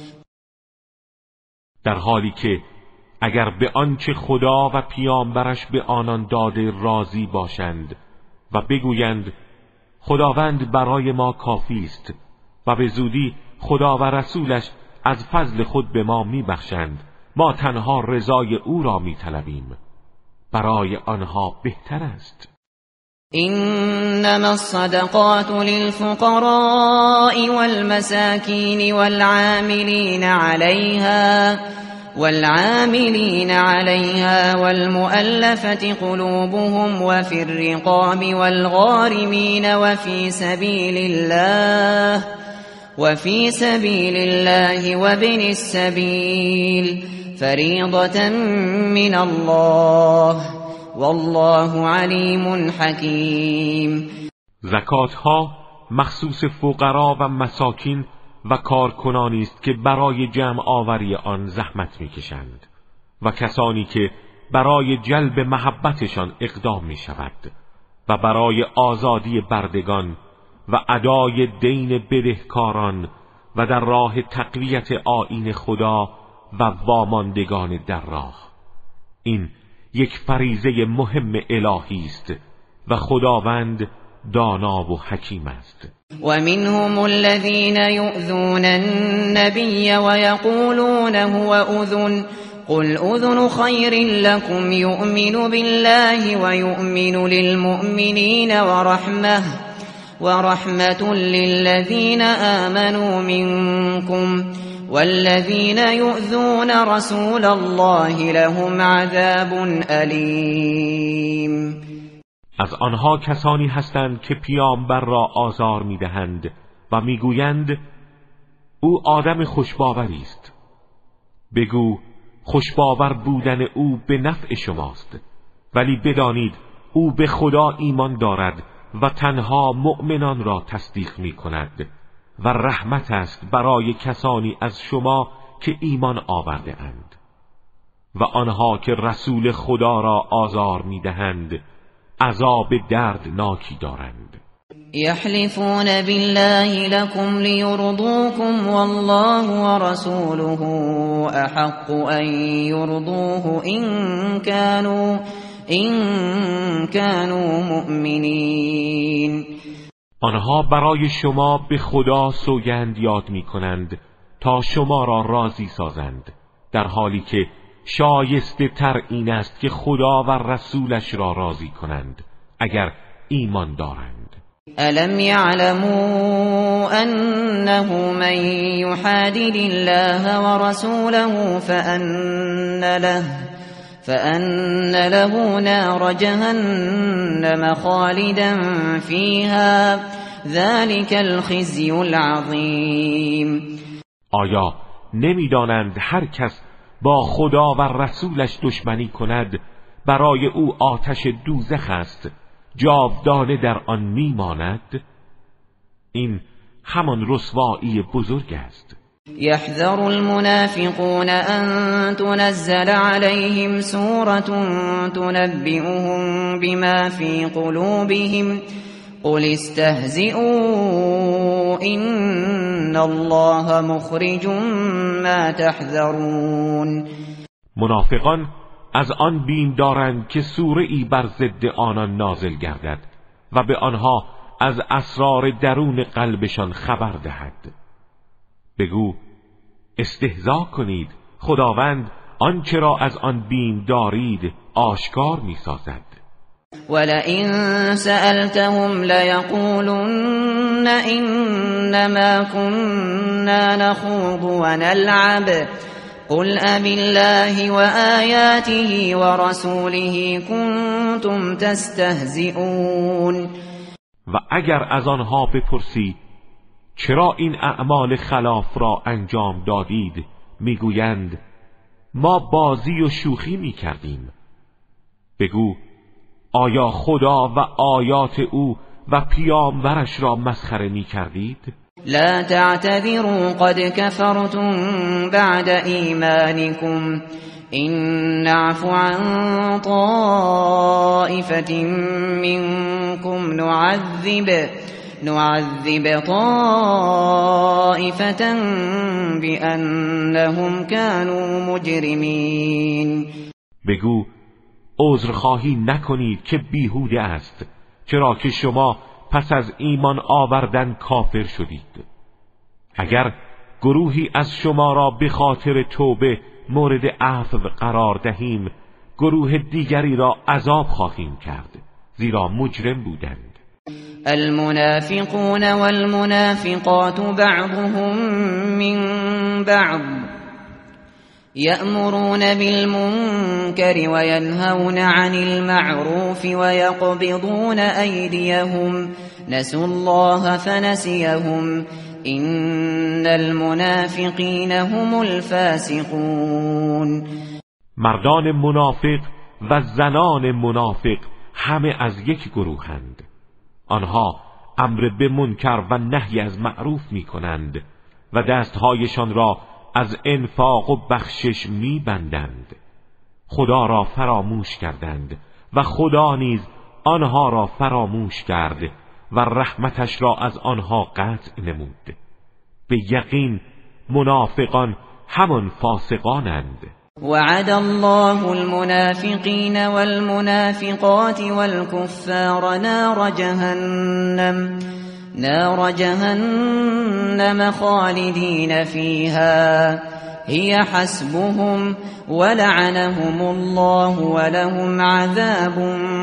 در حالی که اگر به آنچه خدا و پیامبرش به آنان داده راضی باشند و بگویند خداوند برای ما کافی است و به زودی خدا و رسولش از فضل خود به ما میبخشند، ما تنها رضای او را میطلبیم، برای آنها بهتر است. إنما الصدقات للفقراء والمساكين والعاملين عليها والعاملين عليها والمؤلفة قلوبهم وفي الرقاب والغارمين وفي سبيل الله وفي سبيل الله وابن السبيل فريضة من الله والله علیم حکیم. زکات ها مخصوص فقرا و مساکین و کارکنانی است که برای جمع آوری آن زحمت میکشند و کسانی که برای جلب محبتشان اقدام می شود و برای آزادی بردگان و ادای دین بدهکاران و در راه تقویت آیین خدا و واماندگان در راه. این یک فریضه مهم الهی است و خداوند دانا و حکیم است. و منهم الذين يؤذون النبي ويقولون هو أذن قل أذن خير لكم يؤمن بالله ويؤمن للمؤمنين ورحمة ورحمة للذين آمنوا منكم والذين يؤذون رسول الله لهم عذاب أليم. از آنها کسانی هستند که پیامبر را آزار میدهند و میگویند او آدم خوشباوری است. بگو خوشباور بودن او به نفع شماست، ولی بدانید او به خدا ایمان دارد و تنها مؤمنان را تصدیق می کند و رحمت است برای کسانی از شما که ایمان آورده اند و آنها که رسول خدا را آزار می دهند عذاب دردناکی دارند. یحلفون بالله لكم لیرضوكم والله ورسوله احق ان یرضوه ان كانوا ان كانوا مؤمنین. آنها برای شما به خدا سوگند یاد می کنند تا شما را راضی سازند، در حالی که شایسته تر این است که خدا و رسولش را راضی کنند اگر ایمان دارند. الم یعلموا انه من یحادد الله ورسوله فان له فأن له نار جهنم خالدا فيها ذلك الخزي العظیم. آیا نمیدانند هر کس با خدا و رسولش دشمنی کند برای او آتش دوزخ است، جاودانه در آن میماند؟ این همان رسوایی بزرگ است. يحذر المنافقون أن تنزل عليهم سورة تنبئهم بما في قلوبهم قل استهزئوا إن الله مخرج ما تحذرون. منافقان از آن بیم دارند که سوره ای بر ضد آنان نازل گردد و به آنها از اسرار درون قلبشان خبر دهد. بگو استهزا کنید، خداوند آنچه را از آن بیم دارید آشکار می سازد. ولئن سألتهم ليقولن إنما كنا نخوض ونلعب قل أبالله وآياته ورسوله كنتم تستهزئون. و اگر از آنها بپرسی چرا این اعمال خلاف را انجام دادید، میگویند ما بازی و شوخی میکردیم. بگو آیا خدا و آیات او و پیامبرش را مسخره میکردید؟ لا تعتذروا قد كفرتم بعد ایمانكم إن نعفو عن طائفة منكم نعذب نعذب طائفة بأنهم كانوا مجرمین. بگو عذرخواهی نکنید که بیهوده است، چرا که شما پس از ایمان آوردن کافر شدید. اگر گروهی از شما را به خاطر توبه مورد عفو قرار دهیم، گروه دیگری را عذاب خواهیم کرد، زیرا مجرم بودند. المنافقون والمنافقات بعضهم من بعض يأمرون بالمنكر وينهون عن المعروف ويقبضون أيديهم نسوا الله فنسيهم إن المنافقين هم الفاسقون. مردان منافق و زنان منافق همه از یک گروهند. آنها امر به منکر و نهی از معروف می کنند و دستهایشان را از انفاق و بخشش می بندند. خدا را فراموش کردند و خدا نیز آنها را فراموش کرد و رحمتش را از آنها قطع نمود. به یقین منافقان همان فاسقانند. وعد الله المنافقين والمنافقات والكفار نار جهنم نار جهنم خالدين فيها هي حسبهم ولعنهم الله ولهم عذاب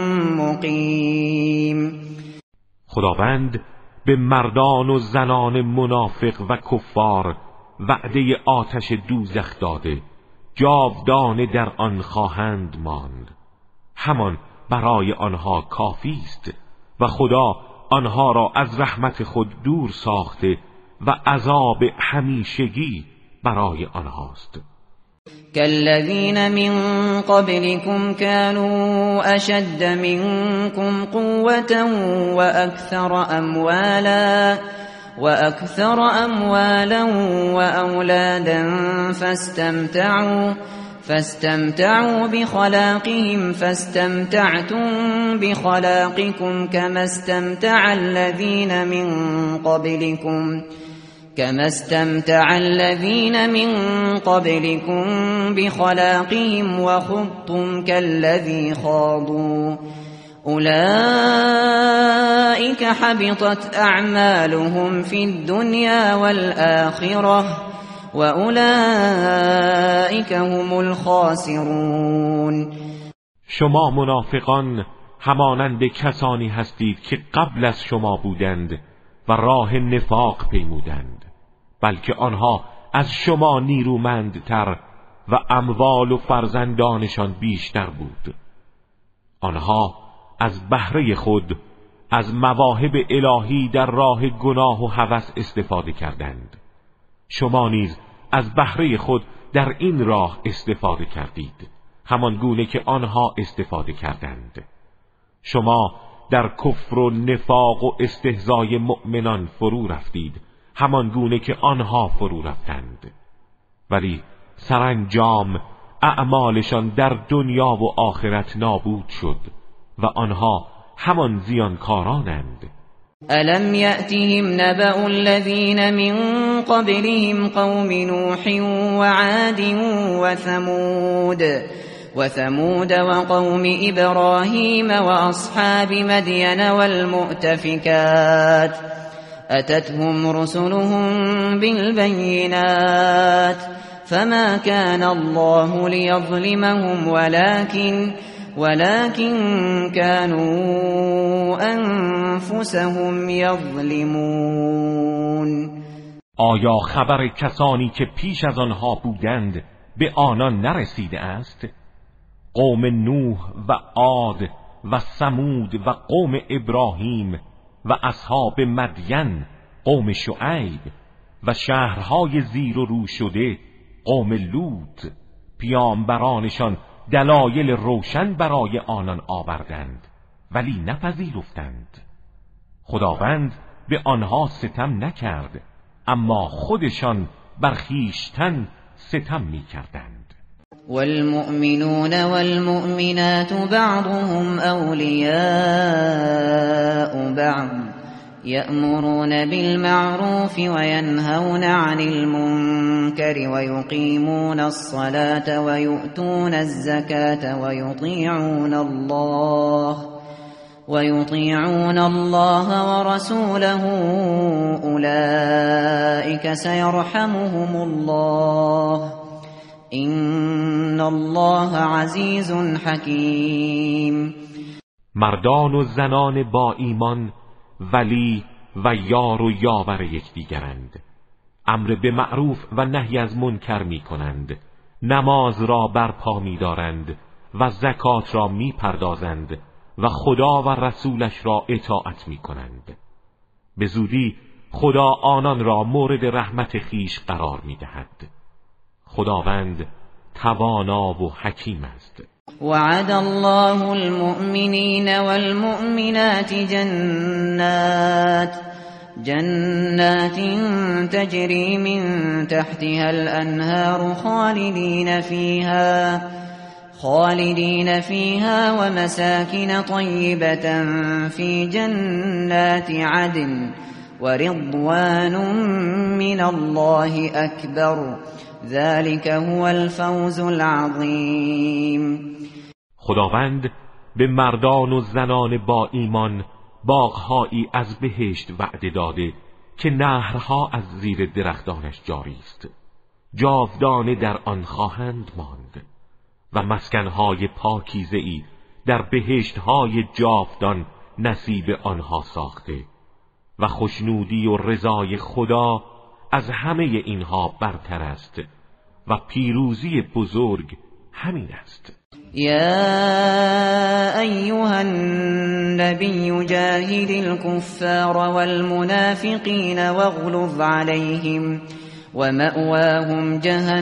مقیم. خداوند به مردان و زنان منافق و کفار وعده آتش دوزخ داده، جاودانه در آن خواهند ماند. همان برای آنها کافی است و خدا آنها را از رحمت خود دور ساخته و عذاب همیشگی برای آنهاست. كالذين من قبلكم كانوا أشد منكم قوة وأكثر أموالا وأكثر أموالا وأولادا فاستمتعوا فاستمتعوا بخلاقهم فاستمتعتم بخلاقكم كما استمتع الذين من قبلكم كما استمتع الذين من قبلكم بخلاقهم وخضتم كالذي خاضوا أولئك حبطت أعمالهم في الدنيا والآخرة وأولئك هم الخاسرون. شما منافقان همانند کسانی هستید که قبل از شما بودند و راه نفاق پیمودند، بلکه آنها از شما نیرومندتر و اموال و فرزندانشان بیشتر بود. آنها از بهره خود از مواهب الهی در راه گناه و هوس استفاده کردند. شما نیز از بهره خود در این راه استفاده کردید، همان گونه که آنها استفاده کردند. شما در کفر و نفاق و استهزای مؤمنان فرو رفتید، همان گونه که آنها فرو رفتند. ولی سرانجام اعمالشان در دنیا و آخرت نابود شد و آنها همان زیانکارانند. ألم يأتهم نبأ الذين من قبلهم قوم نوح وعاد وثمود وثمود وقوم إبراهيم وأصحاب مدين والمؤتفكات أتتهم رسلهم بالبينات فما كان الله ليظلمهم ولكن ولكن كانوا أنفسهم يظلمون. آیا خبر کسانی که پیش از آنها بودند به آنان نرسیده است؟ قوم نوح و عاد و ثمود و قوم ابراهیم و اصحاب مدین قوم شعیب و شهرهای زیر و رو شده قوم لوط، پیامبرانشان دلایل روشن برای آنان آوردند ولی نپذیرفتند. خداوند به آنها ستم نکرد، اما خودشان بر خویشتن ستم می کردند. والمؤمنون والمؤمنات بعضهم أولياء بعض يأمرون بالمعروف وينهون عن المنكر ويقيمون الصلاة ويؤتون الزكاة ويطيعون الله ويطيعون الله ورسوله أولئك سيرحمهم الله إن الله عزیز حکیم. مردان و زنان با ایمان ولی و یار و یاور یکدیگرند، امر به معروف و نهی از منکر می کنند، نماز را برپا می دارند و زکات را می پردازند و خدا و رسولش را اطاعت می کنند. به زودی خدا آنان را مورد رحمت خیش قرار می دهد. خداوند توانا و حکیم است. وعد الله المؤمنين والمؤمنات جنات جنات تجري من تحتها الأنهار خالدين فيها خالدين فيها ومساكن طيبة في جنات عدن ورضوان من الله أكبر ذلك هو الفوز العظیم. خداوند به مردان و زنان با ایمان باغهایی از بهشت وعده داده که نهرها از زیر درختانش جاری است، جاودانه در آن خواهند ماند و مسکنهای پاکیزه‌ای در بهشتهای جاودان نصیب آنها ساخته و خوشنودی و رضای خدا از همه اینها برتر است و پیروزی بزرگ همین است. یا ایها النبی جاهد الكفار والمنافقین واغلظ عليهم ومأواهم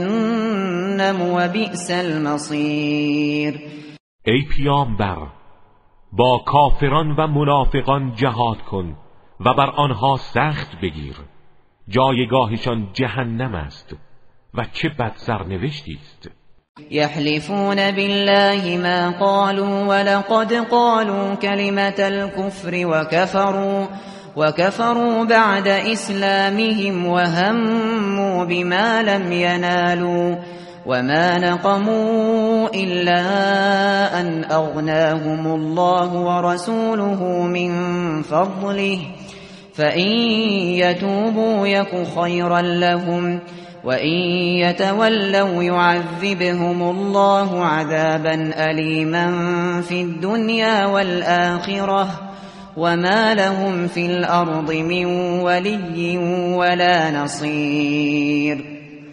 جهنم وبئس المصیر. ای پیامبر، با کافران و منافقان جهاد کن و بر آنها سخت بگیر، جایگاهشان جهنم است و چه بد سرنوشتی است. یحلفون بالله ما قالوا ولقد قالوا كلمة الكفر وكفروا وكفروا بعد اسلامهم وهموا بما لم ينالوا وما نقموا إلا أن أغناهم الله ورسوله من فضله فإن يتوبوا يك خيرا لهم وإن يتولوا يعذبهم الله عذابا أليما في الدنيا والآخرة وما لهم في الأرض من ولي ولا نصير.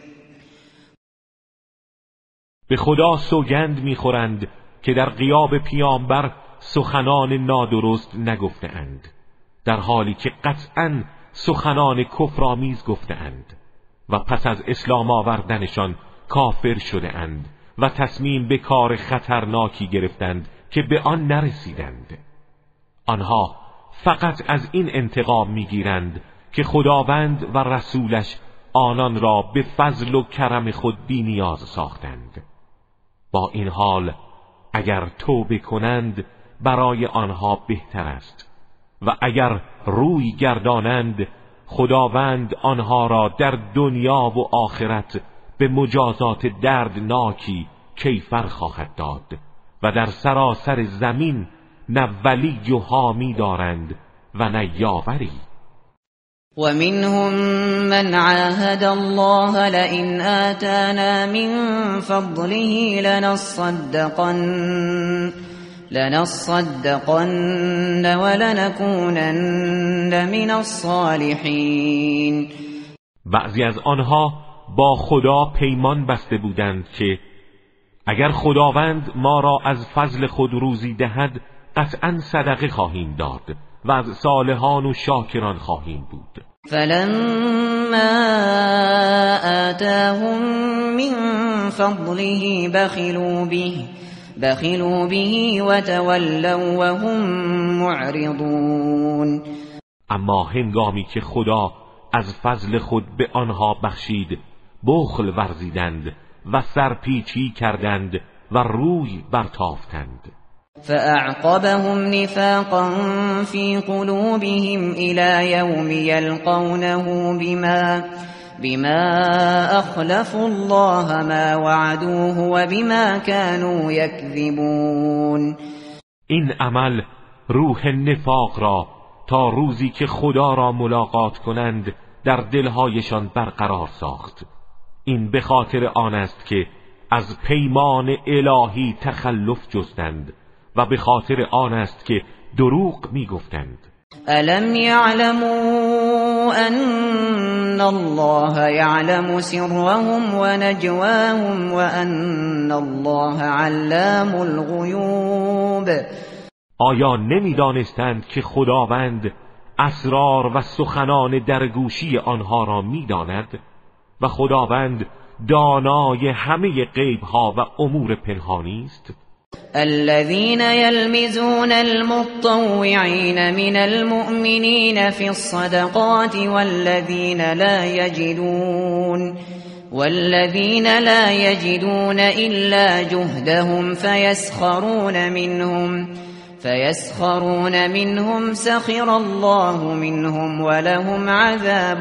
به خدا سوگند میخورند که در غیاب پیامبر سخنان نادرست نگفته‌اند، در حالی که قطعاً سخنان کفرآمیز گفته‌اند و پس از اسلام آوردنشان کافر شده‌اند و تصمیم به کار خطرناکی گرفتند که به آن نرسیدند. آنها فقط از این انتقام میگیرند که خداوند و رسولش آنان را به فضل و کرم خود بی نیاز ساختند. با این حال اگر توبه کنند برای آنها بهتر است و اگر روی گردانند خداوند آنها را در دنیا و آخرت به مجازات دردناکی کیفر خواهد داد و در سراسر زمین نه ولی و حامی دارند و نه یاوری. ومنهم من عاهد الله لئن آتانا من فضله لنصدقن لنصدقن ولنكونن من الصالحین. بعضی از آنها با خدا پیمان بسته بودند که اگر خداوند ما را از فضل خود روزی دهد قطعا صدقه خواهیم داد و از صالحان و شاکران خواهیم بود. فلما آتاهم من فضله بخلوا به بخلوا به وتولوا وهم معرضون. اما هنگامی که خدا از فضل خود به آنها بخشید بخل ورزیدند و سرپیچی کردند و روی برتافتند. فأعقبهم نفاقا في قلوبهم إلى يوم يلقونه بما بما أخلفوا الله ما وعدوه وبما كانوا يكذبون. این عمل روح نفاق را تا روزی که خدا را ملاقات کنند در دلهایشان برقرار ساخت. این به خاطر آن است که از پیمان الهی تخلف جستند و به خاطر آن است که دروغ می گفتند. الم یعلموا ان الله یعلم سرهم و نجواهم و ان الله علام الغیوب. آیا نمی دانستند که خداوند اسرار و سخنان در گوشی آنها را می داند و خداوند دانای همه غیبها و امور پنهانی است؟ الذين يلمزون المطوعين من المؤمنين في الصدقات والذين لا يجدون والذين لا يجدون إلا جهدهم فيسخرون منهم فيسخرون منهم سخر الله منهم ولهم عذاب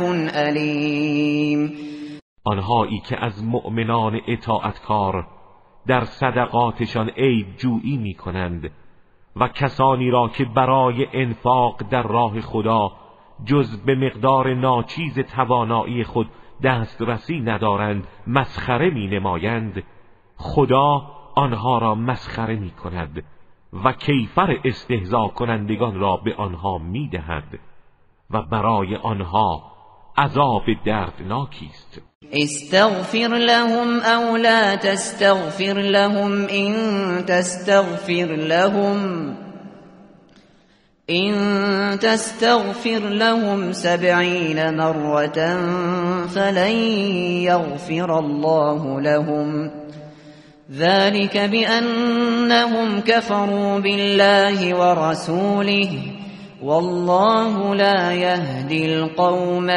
أليم. آنهایی که از مؤمنان اطاعتکار در صدقاتشان عیب جویی می کنند و کسانی را که برای انفاق در راه خدا جز به مقدار ناچیز توانایی خود دسترسی ندارند مسخره می نمایند، خدا آنها را مسخره می کند و کیفر استهزا کنندگان را به آنها می دهد و برای آنها عذاب دردناکی است. استغفر لهم او لا تستغفر لهم ان تستغفر لهم ان تستغفر لهم سبعين مرة فلن يغفر الله لهم ذلك بأنهم كفروا بالله ورسوله والله لا يهدي القوم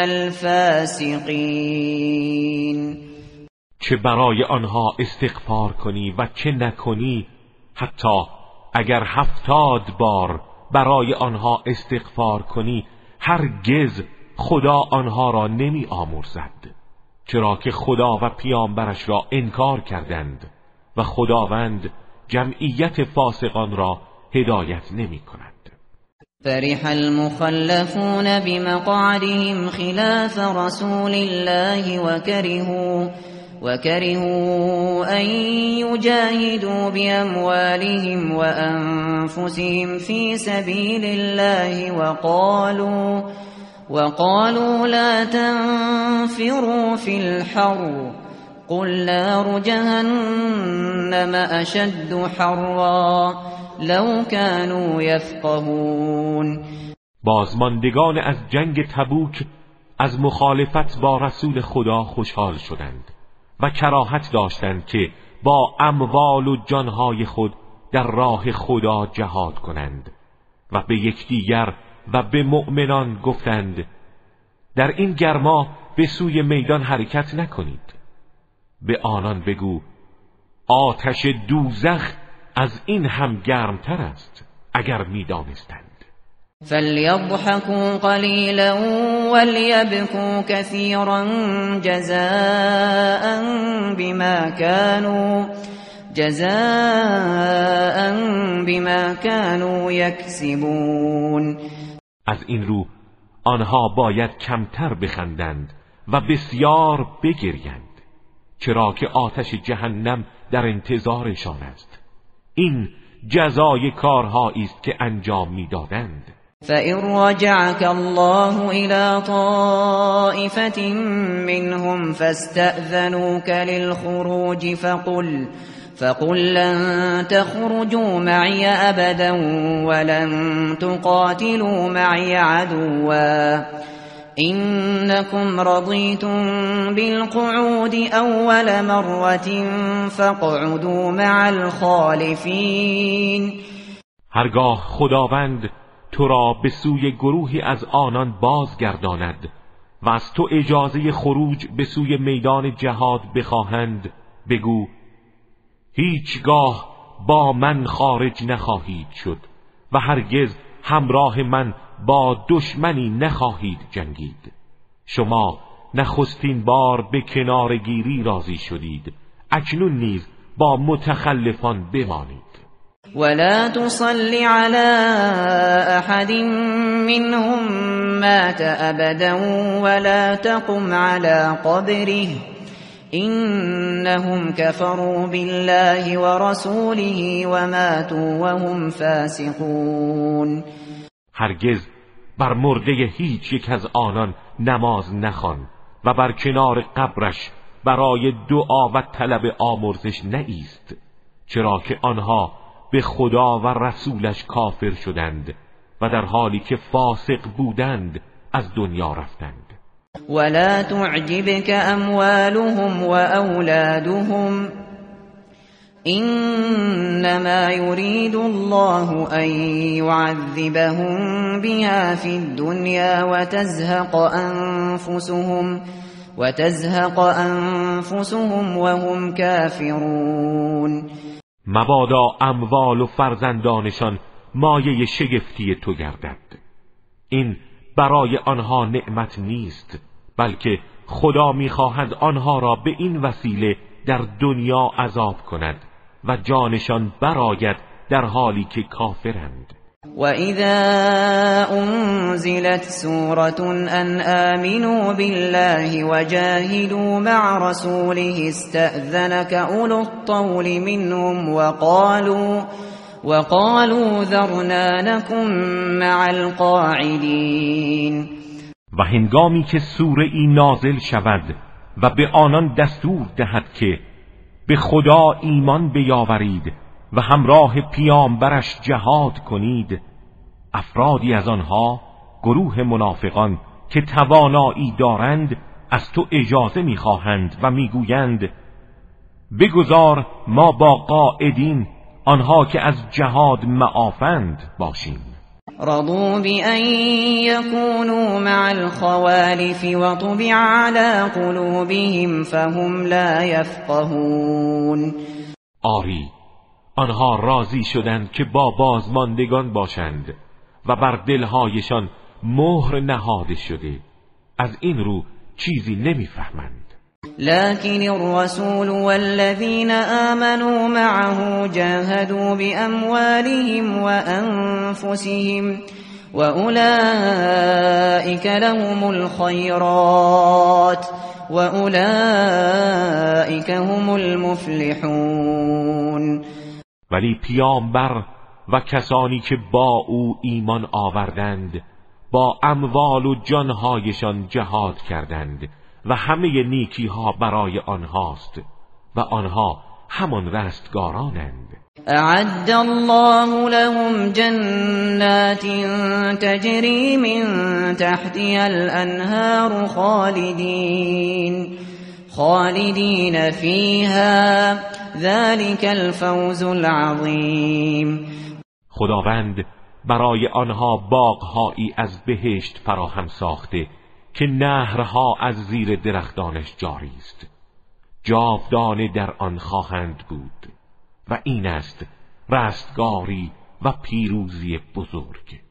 الفاسقين. چه برای آنها استغفار کنی و چه نکنی، حتی اگر هفتاد بار برای آنها استغفار کنی، هرگز خدا آنها را نمی آمرزد، چرا که خدا و پیامبرش را انکار کردند و خداوند جمعیت فاسقان را هدایت نمی کند. فرح المخلفون بمقعدهم خلاف رسول الله وكرهوا وكرهوا أن يجاهدوا بأموالهم وأنفسهم في سبيل الله وقالوا وقالوا لا تنفروا في الحر قل نار جهنم أشد حرا لو كانوا يفقهون. بازماندگان از جنگ تبوک از مخالفت با رسول خدا خوشحال شدند و کراهت داشتند که با اموال و جانهای خود در راه خدا جهاد کنند و به یکدیگر و به مؤمنان گفتند در این گرما به سوی میدان حرکت نکنید. به آنان بگو آتش دوزخ از این هم گرمتر است اگر می دانستند. فَلْيَضْحَكُوا قَلِيلًا وَلْيَبْكُوا كَثِيرًا جَزَاءً بِمَا كَانُوا جَزَاءً بِمَا كَانُوا يَكْسِبُونَ. از این رو آنها باید کمتر بخندند و بسیار بگریند، چرا که آتش جهنم در انتظارشان است. این جزای کارهایی است که انجام میدادند. فَإِن رَّجَعَكَ اللَّهُ إِلَى طَائِفَةٍ مِّنْهُمْ فَاسْتَأْذَنُوكَ لِلْخُرُوجِ فَقُلْ فَقُل لَّن تَخْرُجُوا مَعِيَ أَبَدًا وَلَن تُقَاتِلُوا مَعِيَ عَدُوًّا إِنَّكُمْ رَضِيتُم بِالْقُعُودِ أَوَّلَ مَرَّةٍ فَاقْعُدُوا مَعَ الْخَالِفِينَ. هرگاه خداوند تو را به سوی گروهی از آنان بازگرداند و از تو اجازه خروج به سوی میدان جهاد بخواهند، بگو هیچگاه با من خارج نخواهید شد و هرگز همراه من با دشمنی نخواهید جنگید. شما نخستین بار به کنارگیری راضی شدید، اکنون نیز با متخلفان بمانید. ولا تصل على احد منهم مات ابدا ولا تقم على قبره انهم كفروا بالله ورسوله وماتوا وهم فاسقون. هرگز بر مرده هیچ یک از آنان نماز نخوان و بر کنار قبرش برای دعا و طلب آمرزش نایست، چرا که آنها به خدا و رسولش کافر شدند و در حالی که فاسق بودند از دنیا رفتند. ولا تعجبك اموالهم واولادهم انما يريد الله ان يعذبهم بها في الدنيا وتزهق انفسهم وتزهق انفسهم وهم كافرون. مبادا اموال و فرزندانشان مایه شگفتی تو گردد. این برای آنها نعمت نیست، بلکه خدا می‌خواهد آنها را به این وسیله در دنیا عذاب کند و جانشان برآید در حالی که کافرند. وَإِذَا أُنزِلَتْ سُورَةٌ أَنْ آمِنُوا بِاللَّهِ وَجَاهِدُوا مَعَ رَسُولِهِ اسْتَأْذَنَكَ أُولُو الطَّوْلِ مِنْهُمْ وَقَالُوا وَقَالُوا ذَرْنَا نَكُنْ مَعَ الْقَاعِدِينَ. و هنگامی که سوره ای نازل شود و به آنان دستور دهد که به خدا ایمان بیاورید و همراه پیامبرش جهاد کنید، افرادی از آنها، گروه منافقان که توانایی دارند، از تو اجازه می‌خواهند و می‌گویند بگذار ما با قاعدین، آنها که از جهاد معافند، باشیم. رضوا بأن يكونوا مع الخوالف وطبع على قلوبهم فهم لا يفقهون. آری، آنها راضی شدند که با بازماندگان باشند و بر دلهایشان مهر نهاده شده، از این رو چیزی نمیفهمند. لكن الرسول والذين آمنوا معه جاهدوا بأموالهم وأنفسهم وأولئك لهم الخيرات وأولئك هم المفلحون. ولی پیامبر و کسانی که با او ایمان آوردند با اموال و جانهایشان جهاد کردند و همه نیکی ها برای آنهاست و آنها همان رستگارانند. اعد الله لهم جنات تجری من تحتها الانهار خالدین خالدین فیها ذلك الفوز العظیم. خداوند برای آنها باغهایی از بهشت فراهم ساخته که نهرها از زیر درختانش جاری است، جاودانه در آن خواهند بود و این است رستگاری و پیروزی بزرگ.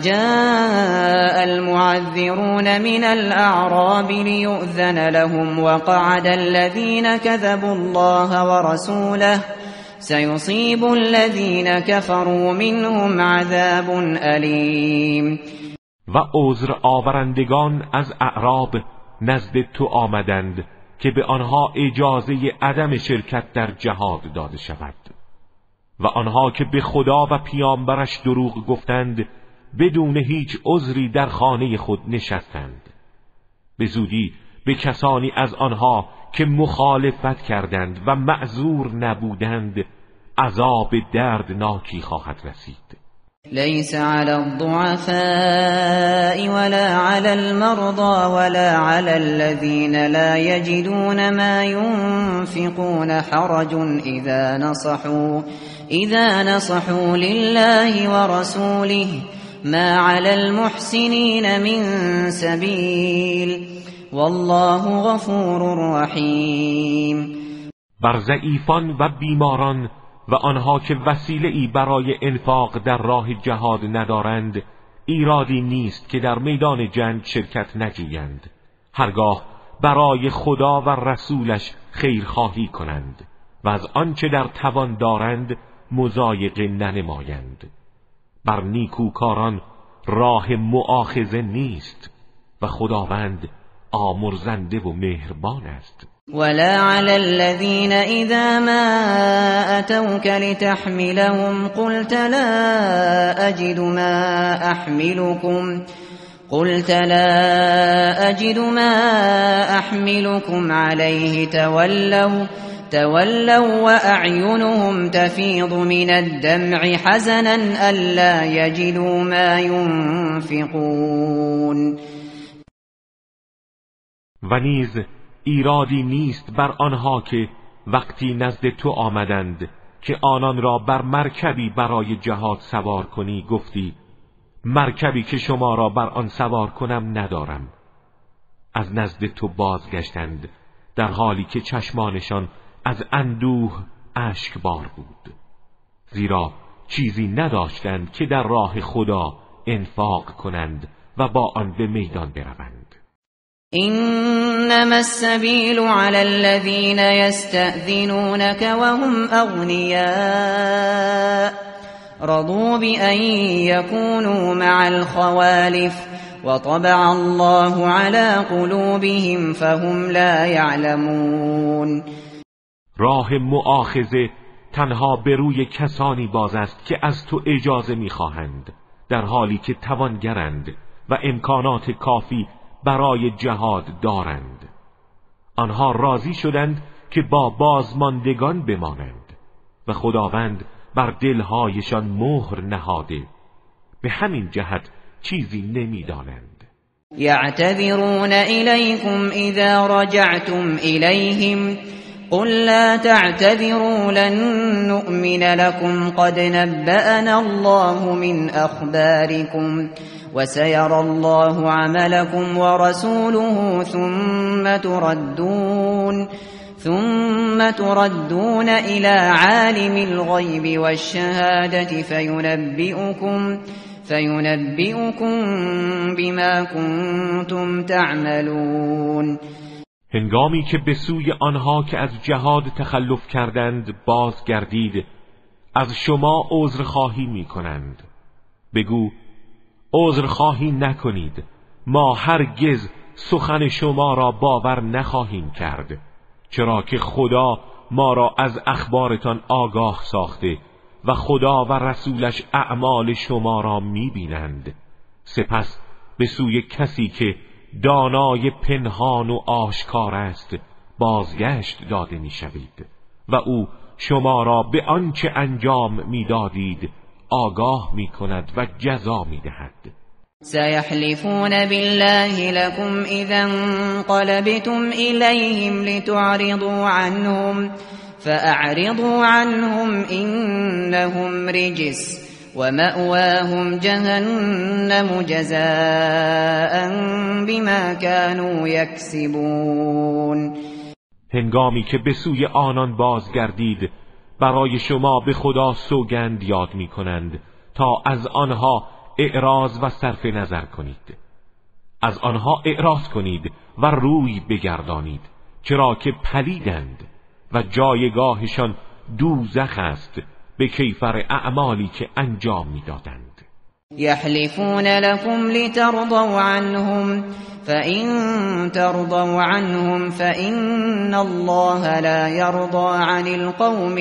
وجاء المعذرون من الأعراب ليؤذن لهم وقعد الذين كذبوا الله ورسوله سيصيب الذين كفروا منهم عذاب أليم. و عذر آورندگان از اعراب نزد تو آمدند که به آنها اجازه عدم شرکت در جهاد داده شود و آنها که به خدا و پیامبرش دروغ گفتند بدون هیچ عذری در خانه خود نشستند. به زودی به کسانی از آنها که مخالفت کردند و معذور نبودند عذاب دردناکی خواهد رسید. ليس على الضعفاء ولا على المرضى ولا على الذين لا يجدون ما ينفقون حرج إذا نصحوا إذا نصحوا لله ورسوله ما على المحسنين من سبيل والله غفور رحيم. بر ضعیفان و بیماران و آنها که وسیله‌ای برای انفاق در راه جهاد ندارند ایرادی نیست که در میدان جنگ شرکت نجویند، هرگاه برای خدا و رسولش خیرخواهی کنند و از آنچه در توان دارند مضایقه ننمایند. بر نیکوکاران راه مؤاخذه نیست و خداوند آمرزنده و مهربان است. ولا على الذين إذا ما أتوك لتحملهم قلت لا أجد ما أحملكم قلت لا أجد ما أحملكم عليه تولوا تولوا وأعينهم تفيض من الدمع حزنا ألا يجدوا ما ينفقون. و نیز ایرادی نیست بر آنها که وقتی نزد تو آمدند که آنان را بر مرکبی برای جهاد سوار کنی گفتی مرکبی که شما را بر آن سوار کنم ندارم. از نزد تو بازگشتند در حالی که چشمانشان از اندوه اشکبار بود، زیرا چیزی نداشتند که در راه خدا انفاق کنند و با آن به میدان بروند. إنما السبيل على الذين يستأذنونك وهم أغنياء رضوا بأن يكونوا مع الخوالف وطبع الله على قلوبهم فهم لا يعلمون. راه مؤاخذه تنها به روی کسانی باز است که از تو اجازه می‌خواهند در حالی که توانگرند و امکانات کافی برای جهاد دارند. آنها راضی شدند که با بازماندگان بمانند و خداوند بر دلهایشان مهر نهاده، به همین جهت چیزی نمی‌دانند. یعتذرون الیکم اذا رجعتم الیهم قل لا تعتذروا لن نؤمن لكم قد نبأنا الله من اخباركم وسيرى الله عملكم ورسوله ثم تردون ثم تردون إلى عالم الغيب والشهادة فينبئكم فينبئكم بما كنتم تعملون. هنگامی که به سوی آنها که از جهاد تخلف کردند بازگردید از شما عذرخواهی می کنند. بگو عذرخواهی نکنید، ما هرگز سخن شما را باور نخواهیم کرد، چرا که خدا ما را از اخبارتان آگاه ساخته و خدا و رسولش اعمال شما را می بینند. سپس به سوی کسی که دانای پنهان و آشکار است بازگشت داده می شوید و او شما را به آنچه انجام می دادید آگاه می کند و جزا می دهد. سيحلفون بالله لكم إذا انقلبتم إليهم لتعرضوا عنهم فأعرضوا عنهم إنهم رجس ومأواهم جهنم جزاء بما كانوا يكسبون. هنگامی که به سوی آنان بازگردید برای شما به خدا سوگند یاد می کنند تا از آنها اعراض و صرف نظر کنید. از آنها اعراض کنید و روی بگردانید، چرا که پلیدند و جایگاهشان دوزخ است به کیفر اعمالی که انجام میدادند. یحلفون لكم لترضوا عنهم فإن ترضوا عنهم فإن الله لا يرضى عن القوم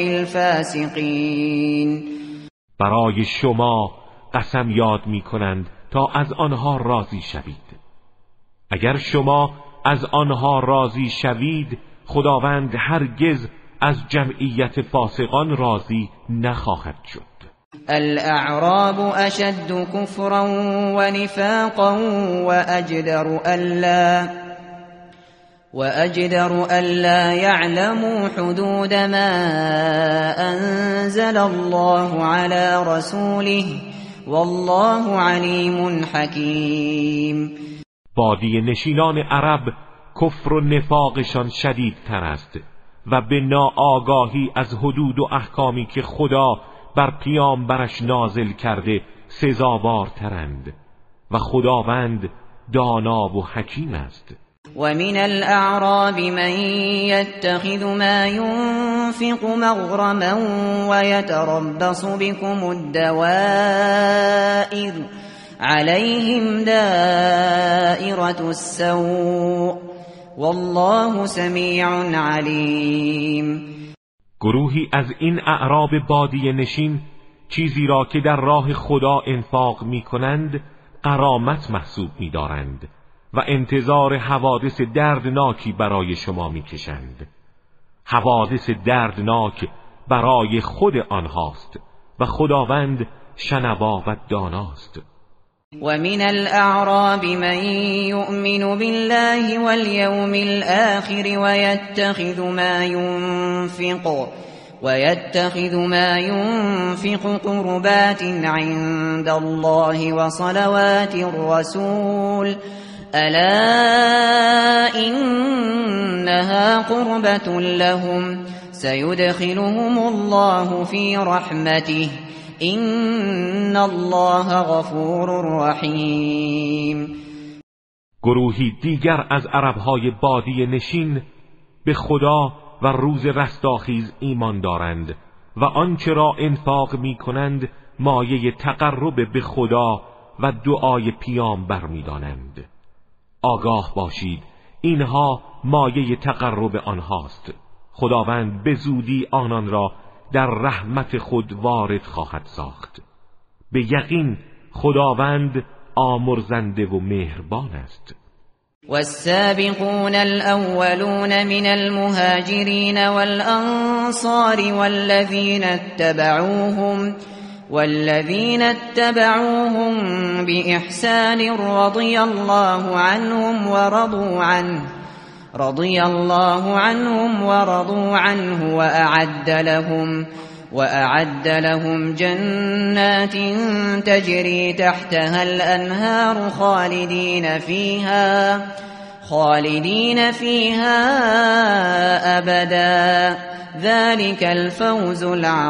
الفاسقين. برای شما قسم یاد می کنند تا از آنها راضی شوید. اگر شما از آنها راضی شوید خداوند هرگز از جمعیت فاسقان راضی نخواهد شد. الاعراب اشد کفرا و نفاقا و اجدر الا وأجدر ألا يعلموا حدود ما أنزل الله على رسوله والله علیم حکیم. بادیه نشینان عرب کفر و نفاقشان شدیدتر است و به ناآگاهی از حدود و احکامی که خدا بر پیامبرش نازل کرده سزاوارترند و خداوند دانا و حکیم است. ومن الأعراب من يتخذ ما ينفق مغرما ويتربص بكم الدوائر عليهم دائرة السوء والله سمیع علیم. گروهی از این اعراب بادیه نشین چیزی را که در راه خدا انفاق می کنند غرامت محسوب می دارند و انتظار حوادث دردناکی برای شما می کشند. حوادث دردناک برای خود آنهاست و خداوند شنوا و داناست. ومن الأعراب من يؤمن بالله واليوم الآخر ويتخذ ما ينفق ويتخذ ما ينفق قربات عند الله وصلوات الرسول ألا إنها قربة لهم سيدخلهم الله في رحمته إن الله غفور رحیم. گروهی دیگر از عربهای بادیه نشین به خدا و روز رستاخیز ایمان دارند و آنچه را انفاق می کنند مایه تقرب به خدا و دعای پیامبر می دانند. آگاه باشید اینها مایه تقرب آنهاست. خداوند به زودی آنان را در رحمت خود وارد خواهد ساخت. به یقین خداوند آمرزنده و مهربان است. والسابقون الأولون من المهاجرين والأنصار والذين اتبعوهم والذين اتبعوهم بإحسان رضي الله عنهم ورضوا عنه رضي الله عنهم ورضوا عنه وأعد لهم وأعد لهم جنات تجري تحتها الأنهار خالدين فيها خالدين فيها أبدا ذلك الفوز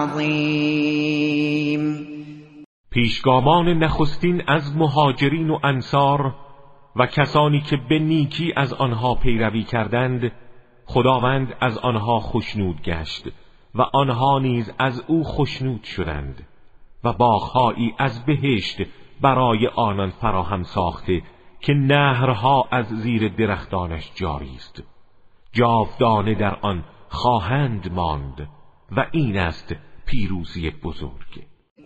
العظيم. پیشگامان نخستین از مهاجرین و انصار و کسانی که به نیکی از آنها پیروی کردند خداوند از آنها خوشنود گشت و آنها نیز از او خوشنود شدند و باغ‌هایی از بهشت برای آنان فراهم ساخته که نهرها از زیر درختانش جاری است. جاودانه در آن خواهند ماند و این است پیروزی بزرگ.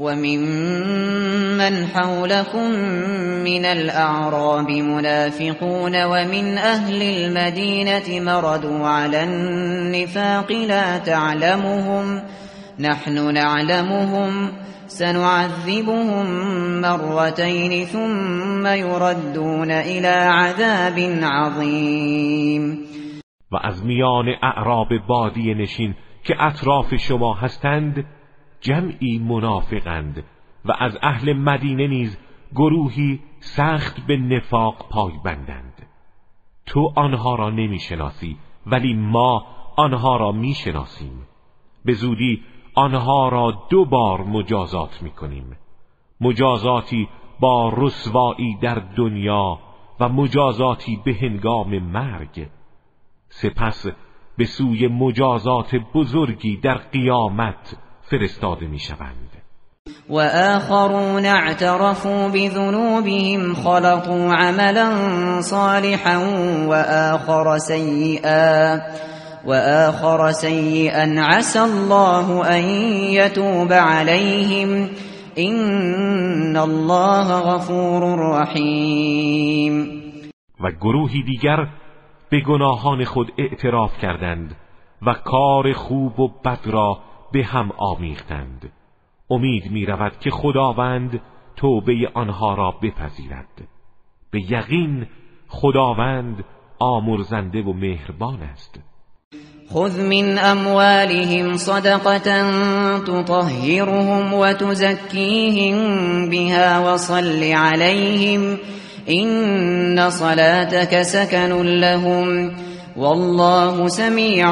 وممن حولكم من الأعراب منافقون ومن أهل المدينة مردوا على النفاق لا تعلمهم نحن نعلمهم سنعذبهم مرتين ثم يردون إلى عذاب عظيم. و از میان اعراب بادیه نشین که اطراف شما هستند جمعی منافقند و از اهل مدینه نیز گروهی سخت به نفاق پایبندند. تو آنها را نمیشناسی ولی ما آنها را میشناسیم. به زودی آنها را دو بار مجازات میکنیم، مجازاتی با رسوایی در دنیا و مجازاتی به هنگام مرگ. سپس به سوی مجازات بزرگی در قیامت فرستاده میشوند. و آخرون اعترفوا بذنوبهم خلطوا عملا صالحا و آخر سیئا و آخر سیئا عسى الله ان يتوب عليهم ان الله غفور رحیم. و گروهی دیگر به گناهان خود اعتراف کردند و کار خوب و بد را به هم آمیختند. امید می رود که خداوند توبه آنها را بپذیرد. به یقین خداوند آمرزنده و مهربان است. خذ من اموالهم صدقة تطهرهم وتزكيهم بها وصل عليهم إن صلاتك سكن لهم والله سمیع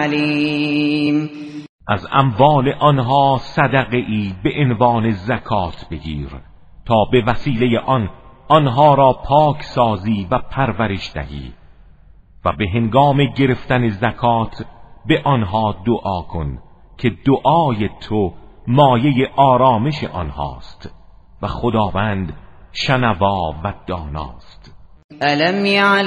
علیم. از اموال آنها صدقه ای به عنوان زکات بگیر تا به وسیله آن آنها را پاک سازی و پرورش دهی و به هنگام گرفتن زکات به آنها دعا کن که دعای تو مایه آرامش آنهاست و خداوند شنوا و داناست. الم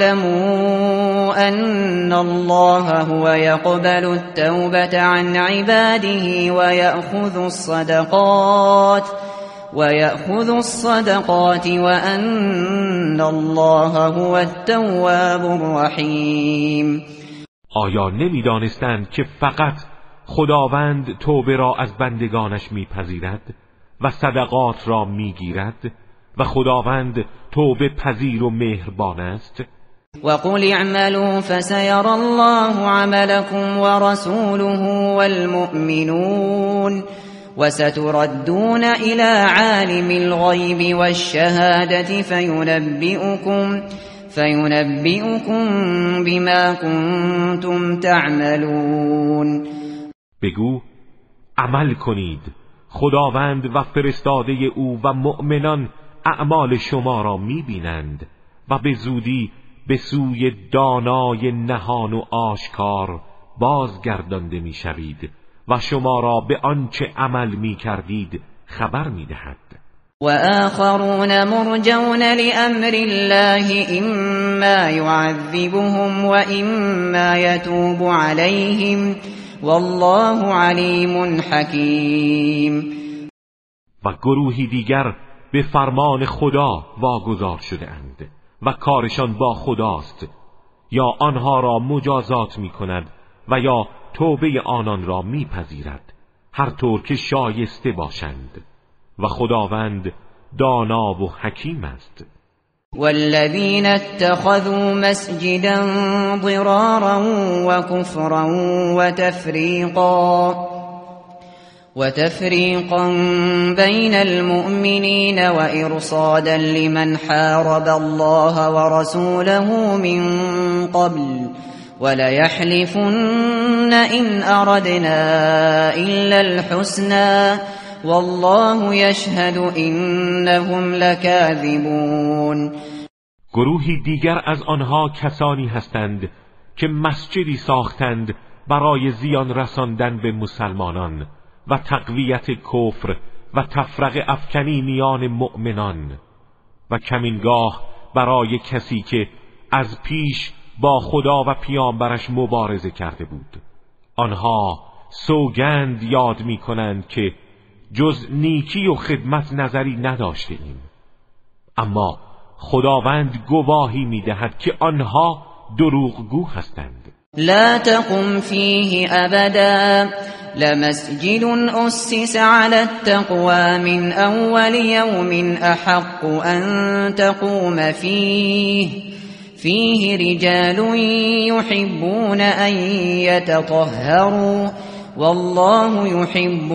یعلموا ان الله هو يقبل التوبة عن عباده ويأخذ الصدقات ويأخذ الصدقات وأن الله هو التواب الرحیم. آیا نمی‌دانستند که فقط خداوند توبه را از بندگانش میپذیرد و صدقات را میگیرد و خداوند توبه پذیر و مهربان است؟ وقل اعملوا فسيرى الله عملكم ورسوله والمؤمنون وستردون إلى عالم الغيب والشهادة فينبئكم فينبئكم بما كنتم تعملون. بگو عمل کنید، خداوند و فرستاده او و مؤمنان اعمال شما را میبینند و به زودی به سوی دانای نهان و آشکار بازگردانده میشوید و شما را به آنچه عمل میکردید خبر میدهد. و آخرون مرجون لأمر الله اما يعذبهم و اما يتوب عليهم والله علیم حکیم. و گروهی دیگر به فرمان خدا واگذار شده اند و کارشان با خداست، یا آنها را مجازات می کند و یا توبه آنان را می پذیرد، هر طور که شایسته باشند و خداوند دانا و حکیم است. والذین اتخذوا مسجدا ضرارا وكفرا وتفریقا وتفريقا بين المؤمنين وإرصادا لمن حارب الله ورسوله من قبل وليحلفن إن أردنا إلا الحسنى والله يشهد إنهم لكاذبون. گروهی دیگر از آنها کسانی هستند که مسجدی ساختند برای زیان رساندن به مسلمانان و تقویت کفر و تفرقه افکنی میان مؤمنان و کمینگاه برای کسی که از پیش با خدا و پیامبرش مبارزه کرده بود. آنها سوگند یاد می کنند که جز نیکی و خدمت نظری نداشته ایم، اما خداوند گواهی می دهد که آنها دروغگو هستند. لا تقم فيه أبدا لمسجد أسس على التقوى من أول يوم أحق أن تقوم فيه فيه رجال يحبون أن يتطهروا والله يحب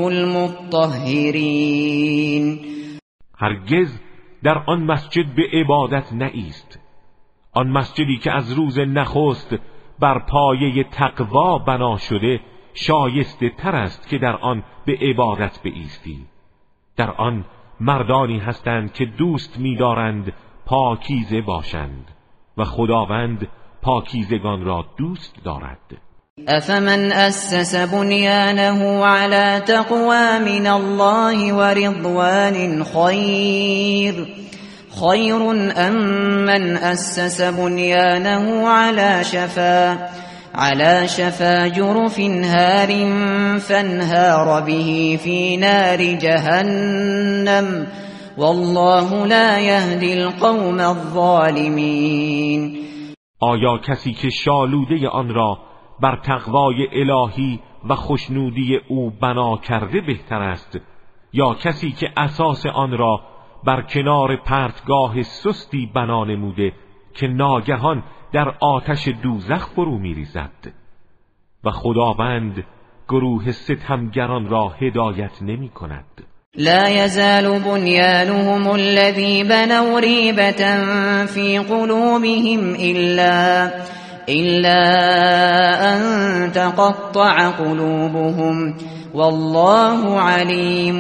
المطهرين. هرگز در آن مسجد به عبادت نایست، آن مسجدی که از روز نخست بر پایه تقوا بنا شده شایسته تر است که در آن به عبادت بایستی. در آن مردانی هستند که دوست می‌دارند پاکیزه باشند و خداوند پاکیزگان را دوست دارد. افمن اسس بنیانه على تقوى من الله ورضوان خیر خیر ام من اسس بنیانه على شفا على شفا جرف هار فانهار به في نار جهنم والله لا يهدي القوم الظالمین. آیا کسی که شالوده آن را بر تقوای الهی و خوشنودی او بنا کرده بهتر است، یا کسی که اساس آن را بر کنار پرتگاه سستی بنا نموده که ناگهان در آتش دوزخ فرو می‌ریزد؟ و خداوند گروه ستمگران را هدایت نمی کند. لا يزال بنيانهم الذي بنوا ريبة في قلوبهم إلا إلا أن تقطع قلوبهم والله علیم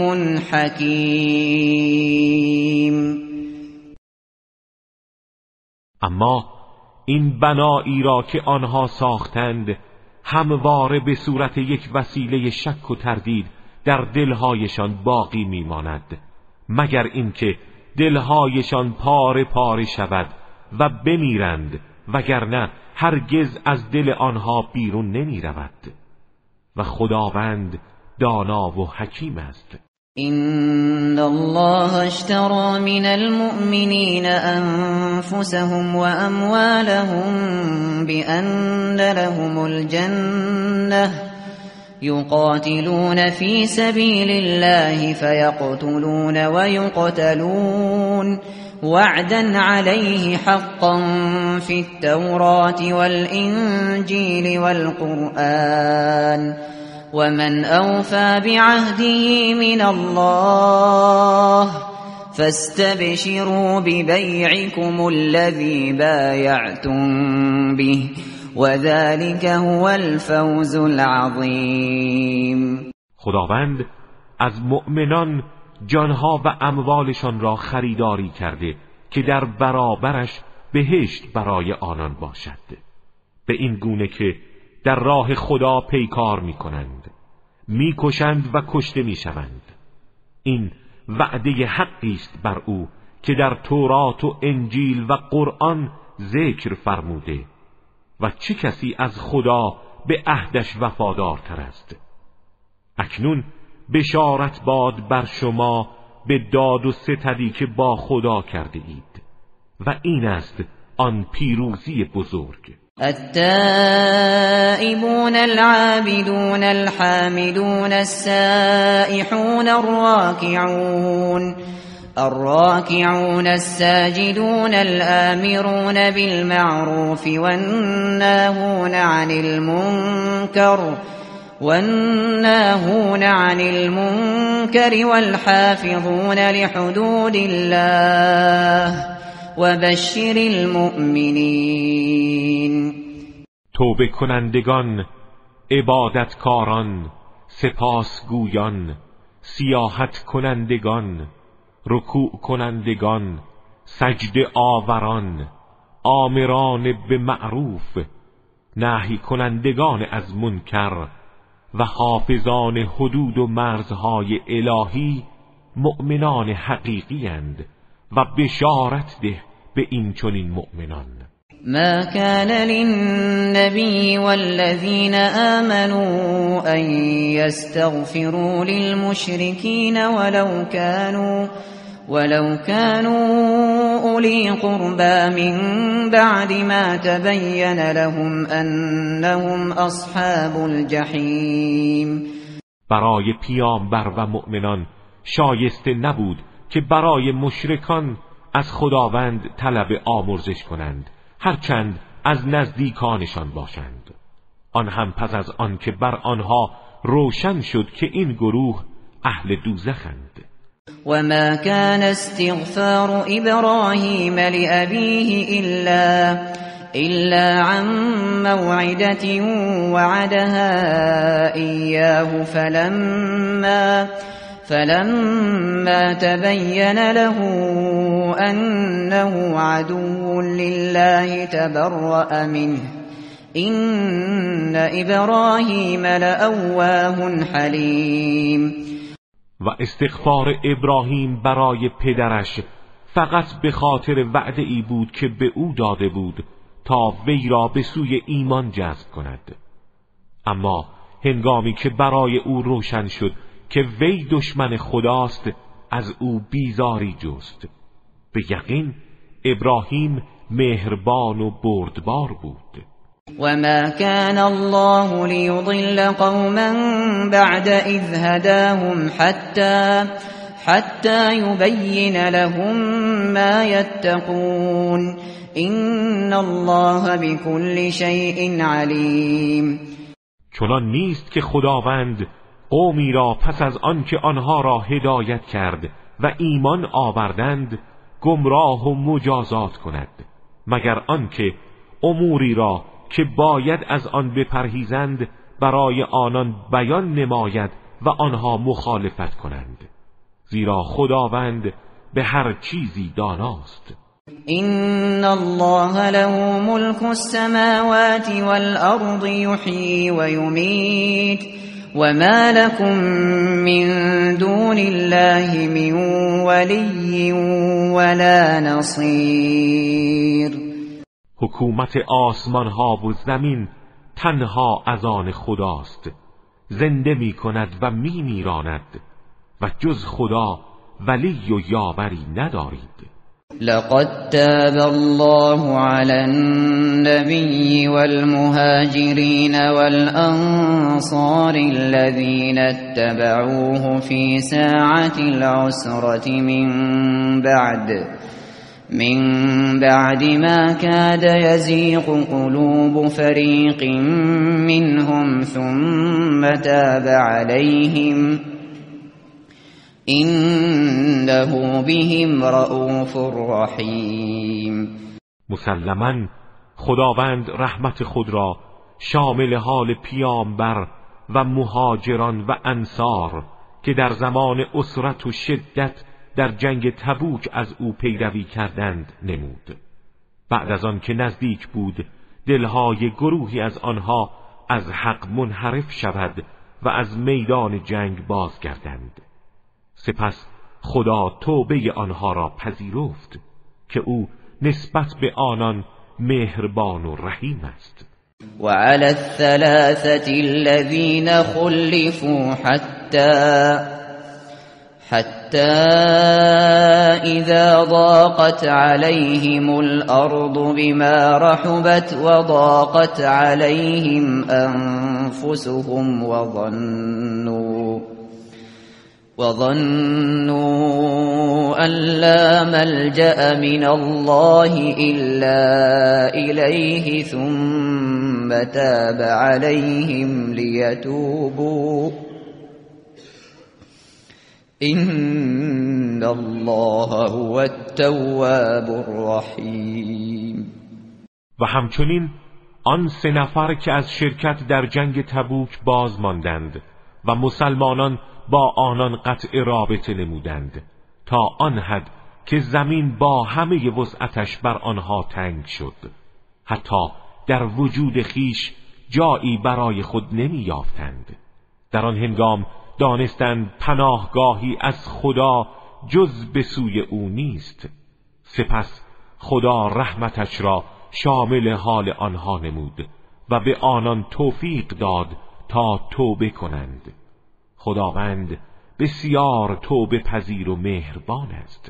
حکیم. اما این بنایی را که آنها ساختند همواره به صورت یک وسیله شک و تردید در دلهایشان باقی میماند، مگر اینکه دلهایشان پاره پاره شود و بمیرند، وگرنه هرگز از دل آنها بیرون نمی رود. و خداوند دانا و حکیم است. إن الله اشترى من المؤمنين أنفسهم وأموالهم بأن لهم الجنة يقاتلون في سبيل الله فيقتلون ويقتلون وعدا عليه حقا في التوراة والإنجيل والقرآن ومن أوفى بعهده من الله فاستبشروا ببيعكم الذي بايعتم به وذلك هو الفوز العظیم. خداوند از مؤمنان جانها و اموالشان را خریداری کرده که در برابرش بهشت برای آنان باشد، به این گونه که در راه خدا پیکار می کنند، می کشند و کشته می شوند. این وعده حقی است بر او که در تورات و انجیل و قرآن ذکر فرموده. و چه کسی از خدا به عهدش وفادارتر است؟ اکنون بشارت باد بر شما به داد و ستدی که با خدا کرده اید و این است آن پیروزی بزرگ. التائبون العابدون الحامدون السائحون الراكعون الراكعون الساجدون الآمرون بالمعروف والناهون عن المنكر والناهون عن المنكر والحافظون لحدود الله وبشر المؤمنین. توبه کنندگان، عبادتکاران، سپاسگویان، سیاحت کنندگان، رکوع کنندگان، سجده آوران، آمران به معروف، نهی کنندگان از منکر و حافظان حدود و مرزهای الهی مؤمنان حقیقی اند و بشارت ده به این چنین مؤمنان. ما كان للنبي والذين آمنوا أن يستغفروا للمشركين ولو كانوا ولو كانوا أولي قربى من بعد ما تبين لهم أنهم أصحاب الجحيم. برای پیامبر و مؤمنان شایسته نبود که برای مشرکان از خداوند طلب آمرزش کنند، هرچند از نزدیکانشان باشند. آن هم پس از آن که بر آنها روشن شد که این گروه اهل دوزخند. وما كان استغفار إبراهيم لأبيه إلا إلا عن موعدة وعدها إياه فلما فلما تبين له أنه عدو لله تبرأ منه إن إبراهيم لأواه حليم. و استغفار ابراهیم برای پدرش فقط به خاطر وعده ای بود که به او داده بود تا وی را به سوی ایمان جذب کند. اما هنگامی که برای او روشن شد که وی دشمن خداست، از او بیزاری جست. به یقین ابراهیم مهربان و بردبار بود. وما كان الله ليضل قوما بعد إذ هداهم حتى حتى يبين لهم ما يتقون إن الله بكل شيء عليم. چنان نیست که خداوند قومی را پس از آنکه آنها را هدایت کرد و ایمان آوردند گمراه و مجازات کند، مگر آنکه اموری را که باید از آن بپرهیزند برای آنان بیان نماید و آنها مخالفت کنند، زیرا خداوند به هر چیزی داناست. إن الله له ملك السماوات والأرض يحيي ويميت وما لكم من دون الله من ولي ولا نصير. حکومت آسمان ها و زمین تنها از آن خداست، زنده می کند و می میراند و جز خدا ولی و یاوری ندارید. لقد تاب الله على النبي والمهاجرين والأنصار الذين اتبعوه في ساعة العسرة من بعد من بعد ما كاد يزيغ قلوب فريق منهم ثم تاب عليهم إنه بهم رؤوف رحیم. مسلماً خداوند رحمت خود را شامل حال پیامبر و مهاجران و انصار که در زمان اسرت و شدت در جنگ تبوک از او پیروی کردند نمود. بعد از آن که نزدیک بود دلهای گروهی از آنها از حق منحرف شود و از میدان جنگ بازگردند، سپس خدا توبه آنها را پذیرفت که او نسبت به آنان مهربان و رحیم است. وعلى الثلاثة الذين خلفوا حتى حتى إذا ضاقت عليهم الأرض بما رحبت وضاقت عليهم أنفسهم وظنوا وظنوا أن لا ملجأ من الله إلا إليه ثم تاب عليهم ليتوبوا إن الله هو التواب الرحیم. و همچنین آن سه نفر که از شرکت در جنگ تبوک باز ماندند و مسلمانان با آنان قطع رابطه نمودند تا آن حد که زمین با همه وسعتش بر آنها تنگ شد، حتی در وجود خیش جایی برای خود نمی یافتند. در آن هنگام دانستند پناهگاهی از خدا جز به سوی او نیست. سپس خدا رحمتش را شامل حال آنها نمود و به آنان توفیق داد تا توبه کنند. خداوند بسیار توبه پذیر و مهربان است.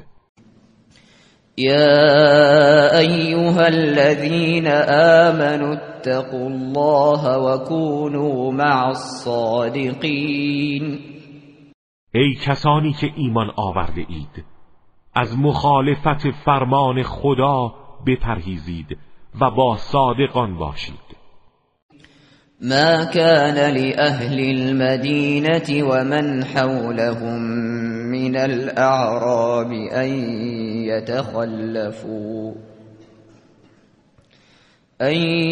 يا أيها الذين آمنوا اتقوا الله وكونوا مع الصادقين. ای کسانی که ایمان آورده اید، از مخالفت فرمان خدا بپرهیزید و با صادقان باشید. ما كان لأهل المدينة ومن حولهم من الأعراب أن يتخلفوا أن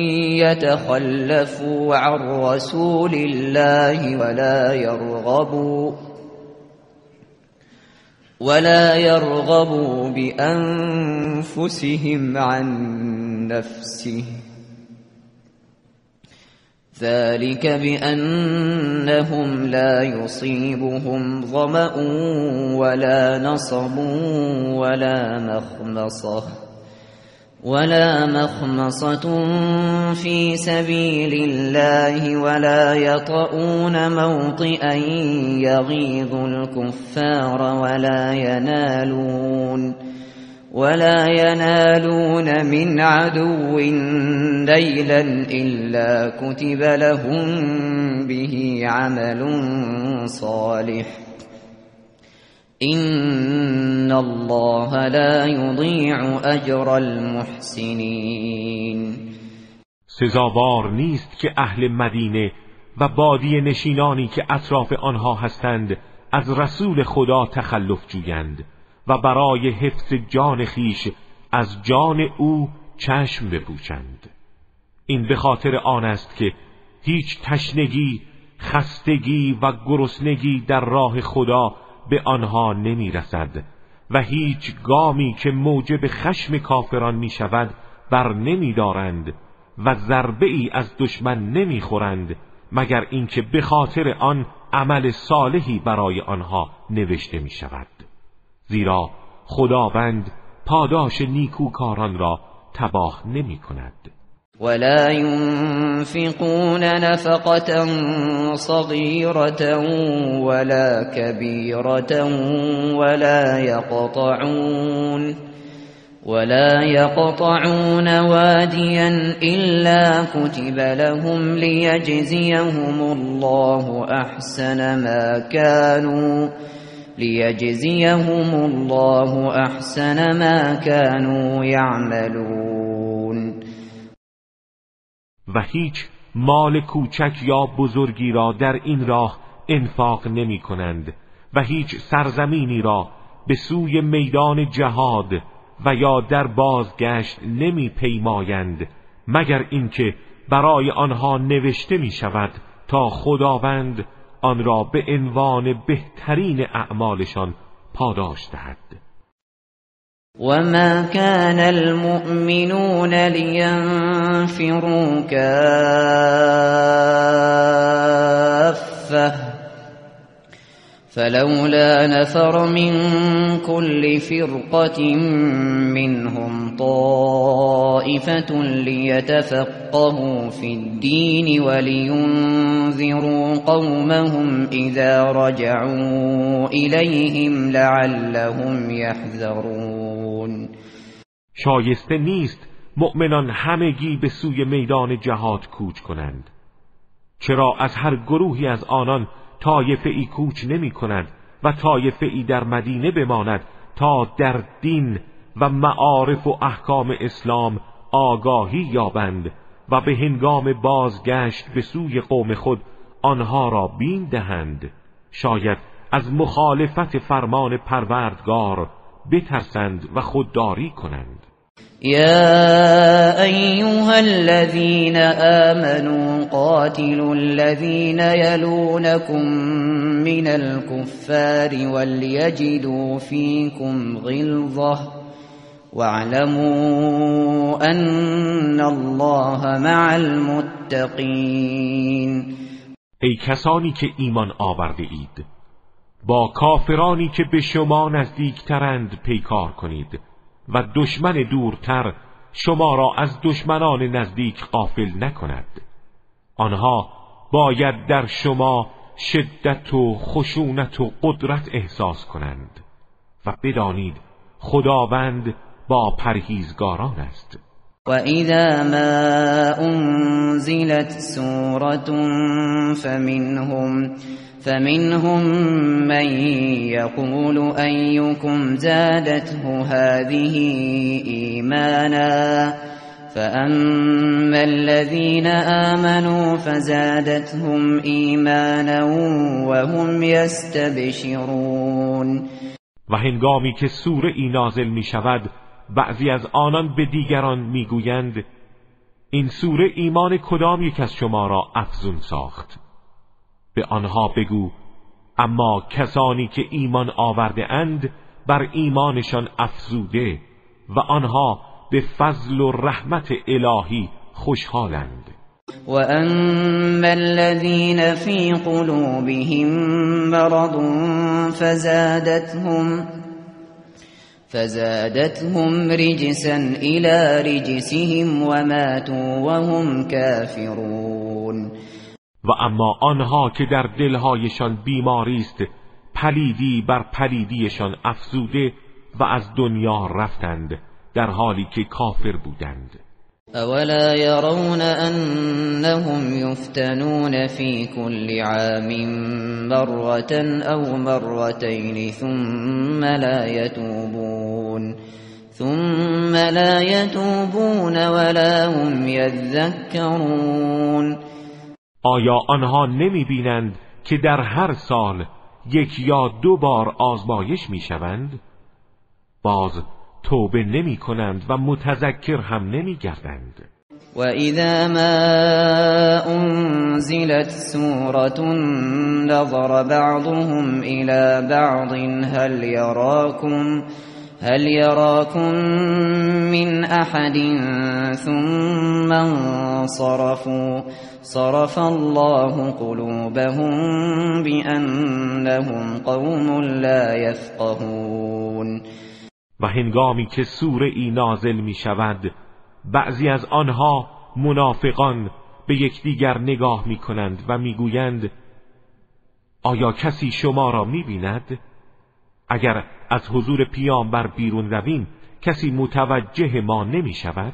يتخلفوا عن رسول الله ولا يرغبوا ولا يرغبوا بأنفسهم عن نفسه ذلك بأنهم لا يصيبهم ظمأ ولا نصب ولا مخمصة ولا مخمصة في سبيل الله ولا يطؤون موطئا يغيظ الكفار ولا ينالون ولا ينالون من عدو نيلا إلا كتب لهم به عمل صالح إن الله لا يضيع أجر المحسنين. سزاوار نیست که اهل مدینه و بادیه نشینانی که اطراف آنها هستند از رسول خدا تخلف جویند و برای حفظ جان خیش از جان او چشم بپوشند. این به خاطر آن است که هیچ تشنگی، خستگی و گرسنگی در راه خدا به آنها نمی رسد و هیچ گامی که موجب خشم کافران می شود بر نمی دارند و ضربه ای از دشمن نمی خورند مگر اینکه به خاطر آن عمل صالحی برای آنها نوشته می شود. زیرا خداوند پاداش نیکوکاران را تباه نمی کند. ولا ينفقون نفقة صغيرة ولا كبيرة ولا يقطعون ولا يقطعون واديا إلا كتب لهم ليجزيهم الله أحسن ما كانوا ليجزيهم الله أحسن ما كانوا يعملون. و هیچ مال کوچک یا بزرگی را در این راه انفاق نمی کنند و هیچ سرزمینی را به سوی میدان جهاد و یا در بازگشت نمی پیمایند مگر اینکه برای آنها نوشته می شود تا خداوند آن را به عنوان بهترین اعمالشان پاداش دهد. وما كان المؤمنون لينفروا كافة فلولا نفر من كل فرقة منهم طائفة ليتفقهوا في الدين ولينذروا قومهم إذا رجعوا إليهم لعلهم يحذرون. شایسته نیست مؤمنان همگی به سوی میدان جهاد کوچ کنند، چرا از هر گروهی از آنان طایفه ای کوچ نمی کند و طایفه ای در مدینه بماند تا در دین و معارف و احکام اسلام آگاهی یابند و به هنگام بازگشت به سوی قوم خود آنها را بین دهند. شاید از مخالفت فرمان پروردگار بترسند و خودداری کنند. يا أيها الذين آمنوا قاتلوا الذين يلونكم من الكفار وليجدوا فيكم غلظة واعلموا أن الله مع المتقين. ای کسانی که ایمان آورده اید، با کافرانی که به شما نزدیکترند پیکار کنید و دشمن دورتر شما را از دشمنان نزدیک غافل نکند. آنها باید در شما شدت و خشونت و قدرت احساس کنند و بدانید خداوند با پرهیزگاران است. وَإِذَا مَا أُنزِلَتْ سُورَةٌ فَمِنْهُمْ فَمِنْهُمْ مَنْ يَقُولُ أَيُّكُمْ زَادَتْهُ هَذِهِ إِيمَانًا فَأَمَّا الَّذِينَ آمَنُوا فَزَادَتْهُمْ إِيمَانًا وَهُمْ يَسْتَبْشِرُونَ. و هنگامی که سوره ای نازل می شود بعضی از آنان به دیگران می گویند این سوره ایمان کدام یک از شما را افزون ساخت؟ به آنها بگو اما کسانی که ایمان آورده اند بر ایمانشان افزوده و آنها به فضل و رحمت الهی خوشحالند. وَأَمَّا الَّذِينَ فِي قُلُوبِهِم مَّرَضٌ فَزَادَتْهُمْ فَزَادَتْهُمْ رِجْسًا إِلَى رِجْسِهِمْ وَمَاتُوا وَهُمْ كَافِرُونَ. و اما آنها که در دلهایشان بیماری است پلیدی بر پلیدیشان افزوده و از دنیا رفتند در حالی که کافر بودند. اولا يرون انهم يفتنون في كل عام مرة او مرتين ثم لا يتوبون ثم لا يتوبون ولا هم يذكرون. آیا آنها نمی بینند که در هر سال یک یا دو بار آزمایش می شوند؟ باز توبه نمی کنند و متذکر هم نمی گردند. وَإِذَا مَا أُنْزِلَتْ سُورَةٌ نَظَرَ بَعْضُهُمْ إِلَى بَعْضٍ هَلْ يَرَاكُمْ هَلْ يَرَاكُمْ مِنْ أَحَدٍ ثُمَّ انصَرَفُوا صَرَفَ اللَّهُ قُلُوبَهُم بِأَنَّهُمْ قَوْمٌ لَا يَفْقَهُونَ. و هنگامی که سوره ای نازل می شود، بعضی از آنها منافقان به یکدیگر نگاه می کنند و می گویند آیا کسی شما را می بیند؟ اگر از حضور پیامبر بیرون رویم کسی متوجه ما نمی شود؟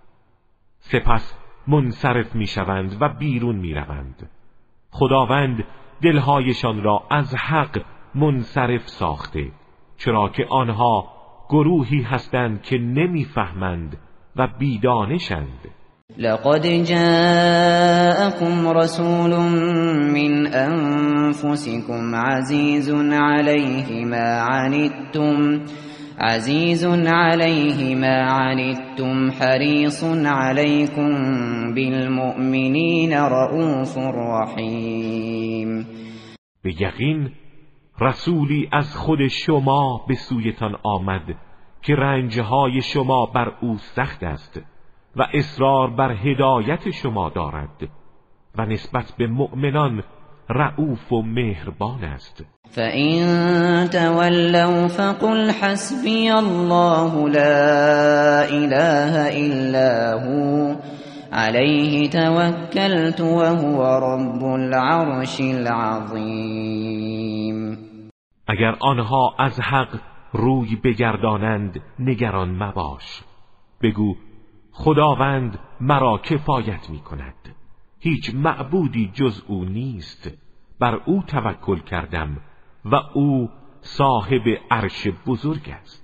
سپس منصرف می شوند و بیرون می روند. خداوند دلهایشان را از حق منصرف ساخته، چرا که آنها گروهی هستند که نمی فهمند و بیدانشند. لقد جاءكم رسول من أنفسكم عزيز عليه ما عنتم عزيز عليه ما عنتم حريص عليكم بالمؤمنين رؤوف رحيم. به یقین رسولی از خود شما به سویتان آمد که رنجهای شما بر او سخت است و اصرار بر هدایت شما دارد و نسبت به مؤمنان رؤوف و مهربان است. فَإِن تَوَلَّوْا فَقُلْ حَسْبِيَ اللَّهُ لَا إِلَهَ إِلَّا هُوَ عَلَيْهِ تَوَكَّلْتُ وَهُوَ رَبُّ الْعَرْشِ الْعَظِيمِ. اگر آنها از حق روی بگردانند نگران مباش، بگو خداوند مرا کفایت می کند، هیچ معبودی جز او نیست، بر او توکل کردم و او صاحب عرش بزرگ است.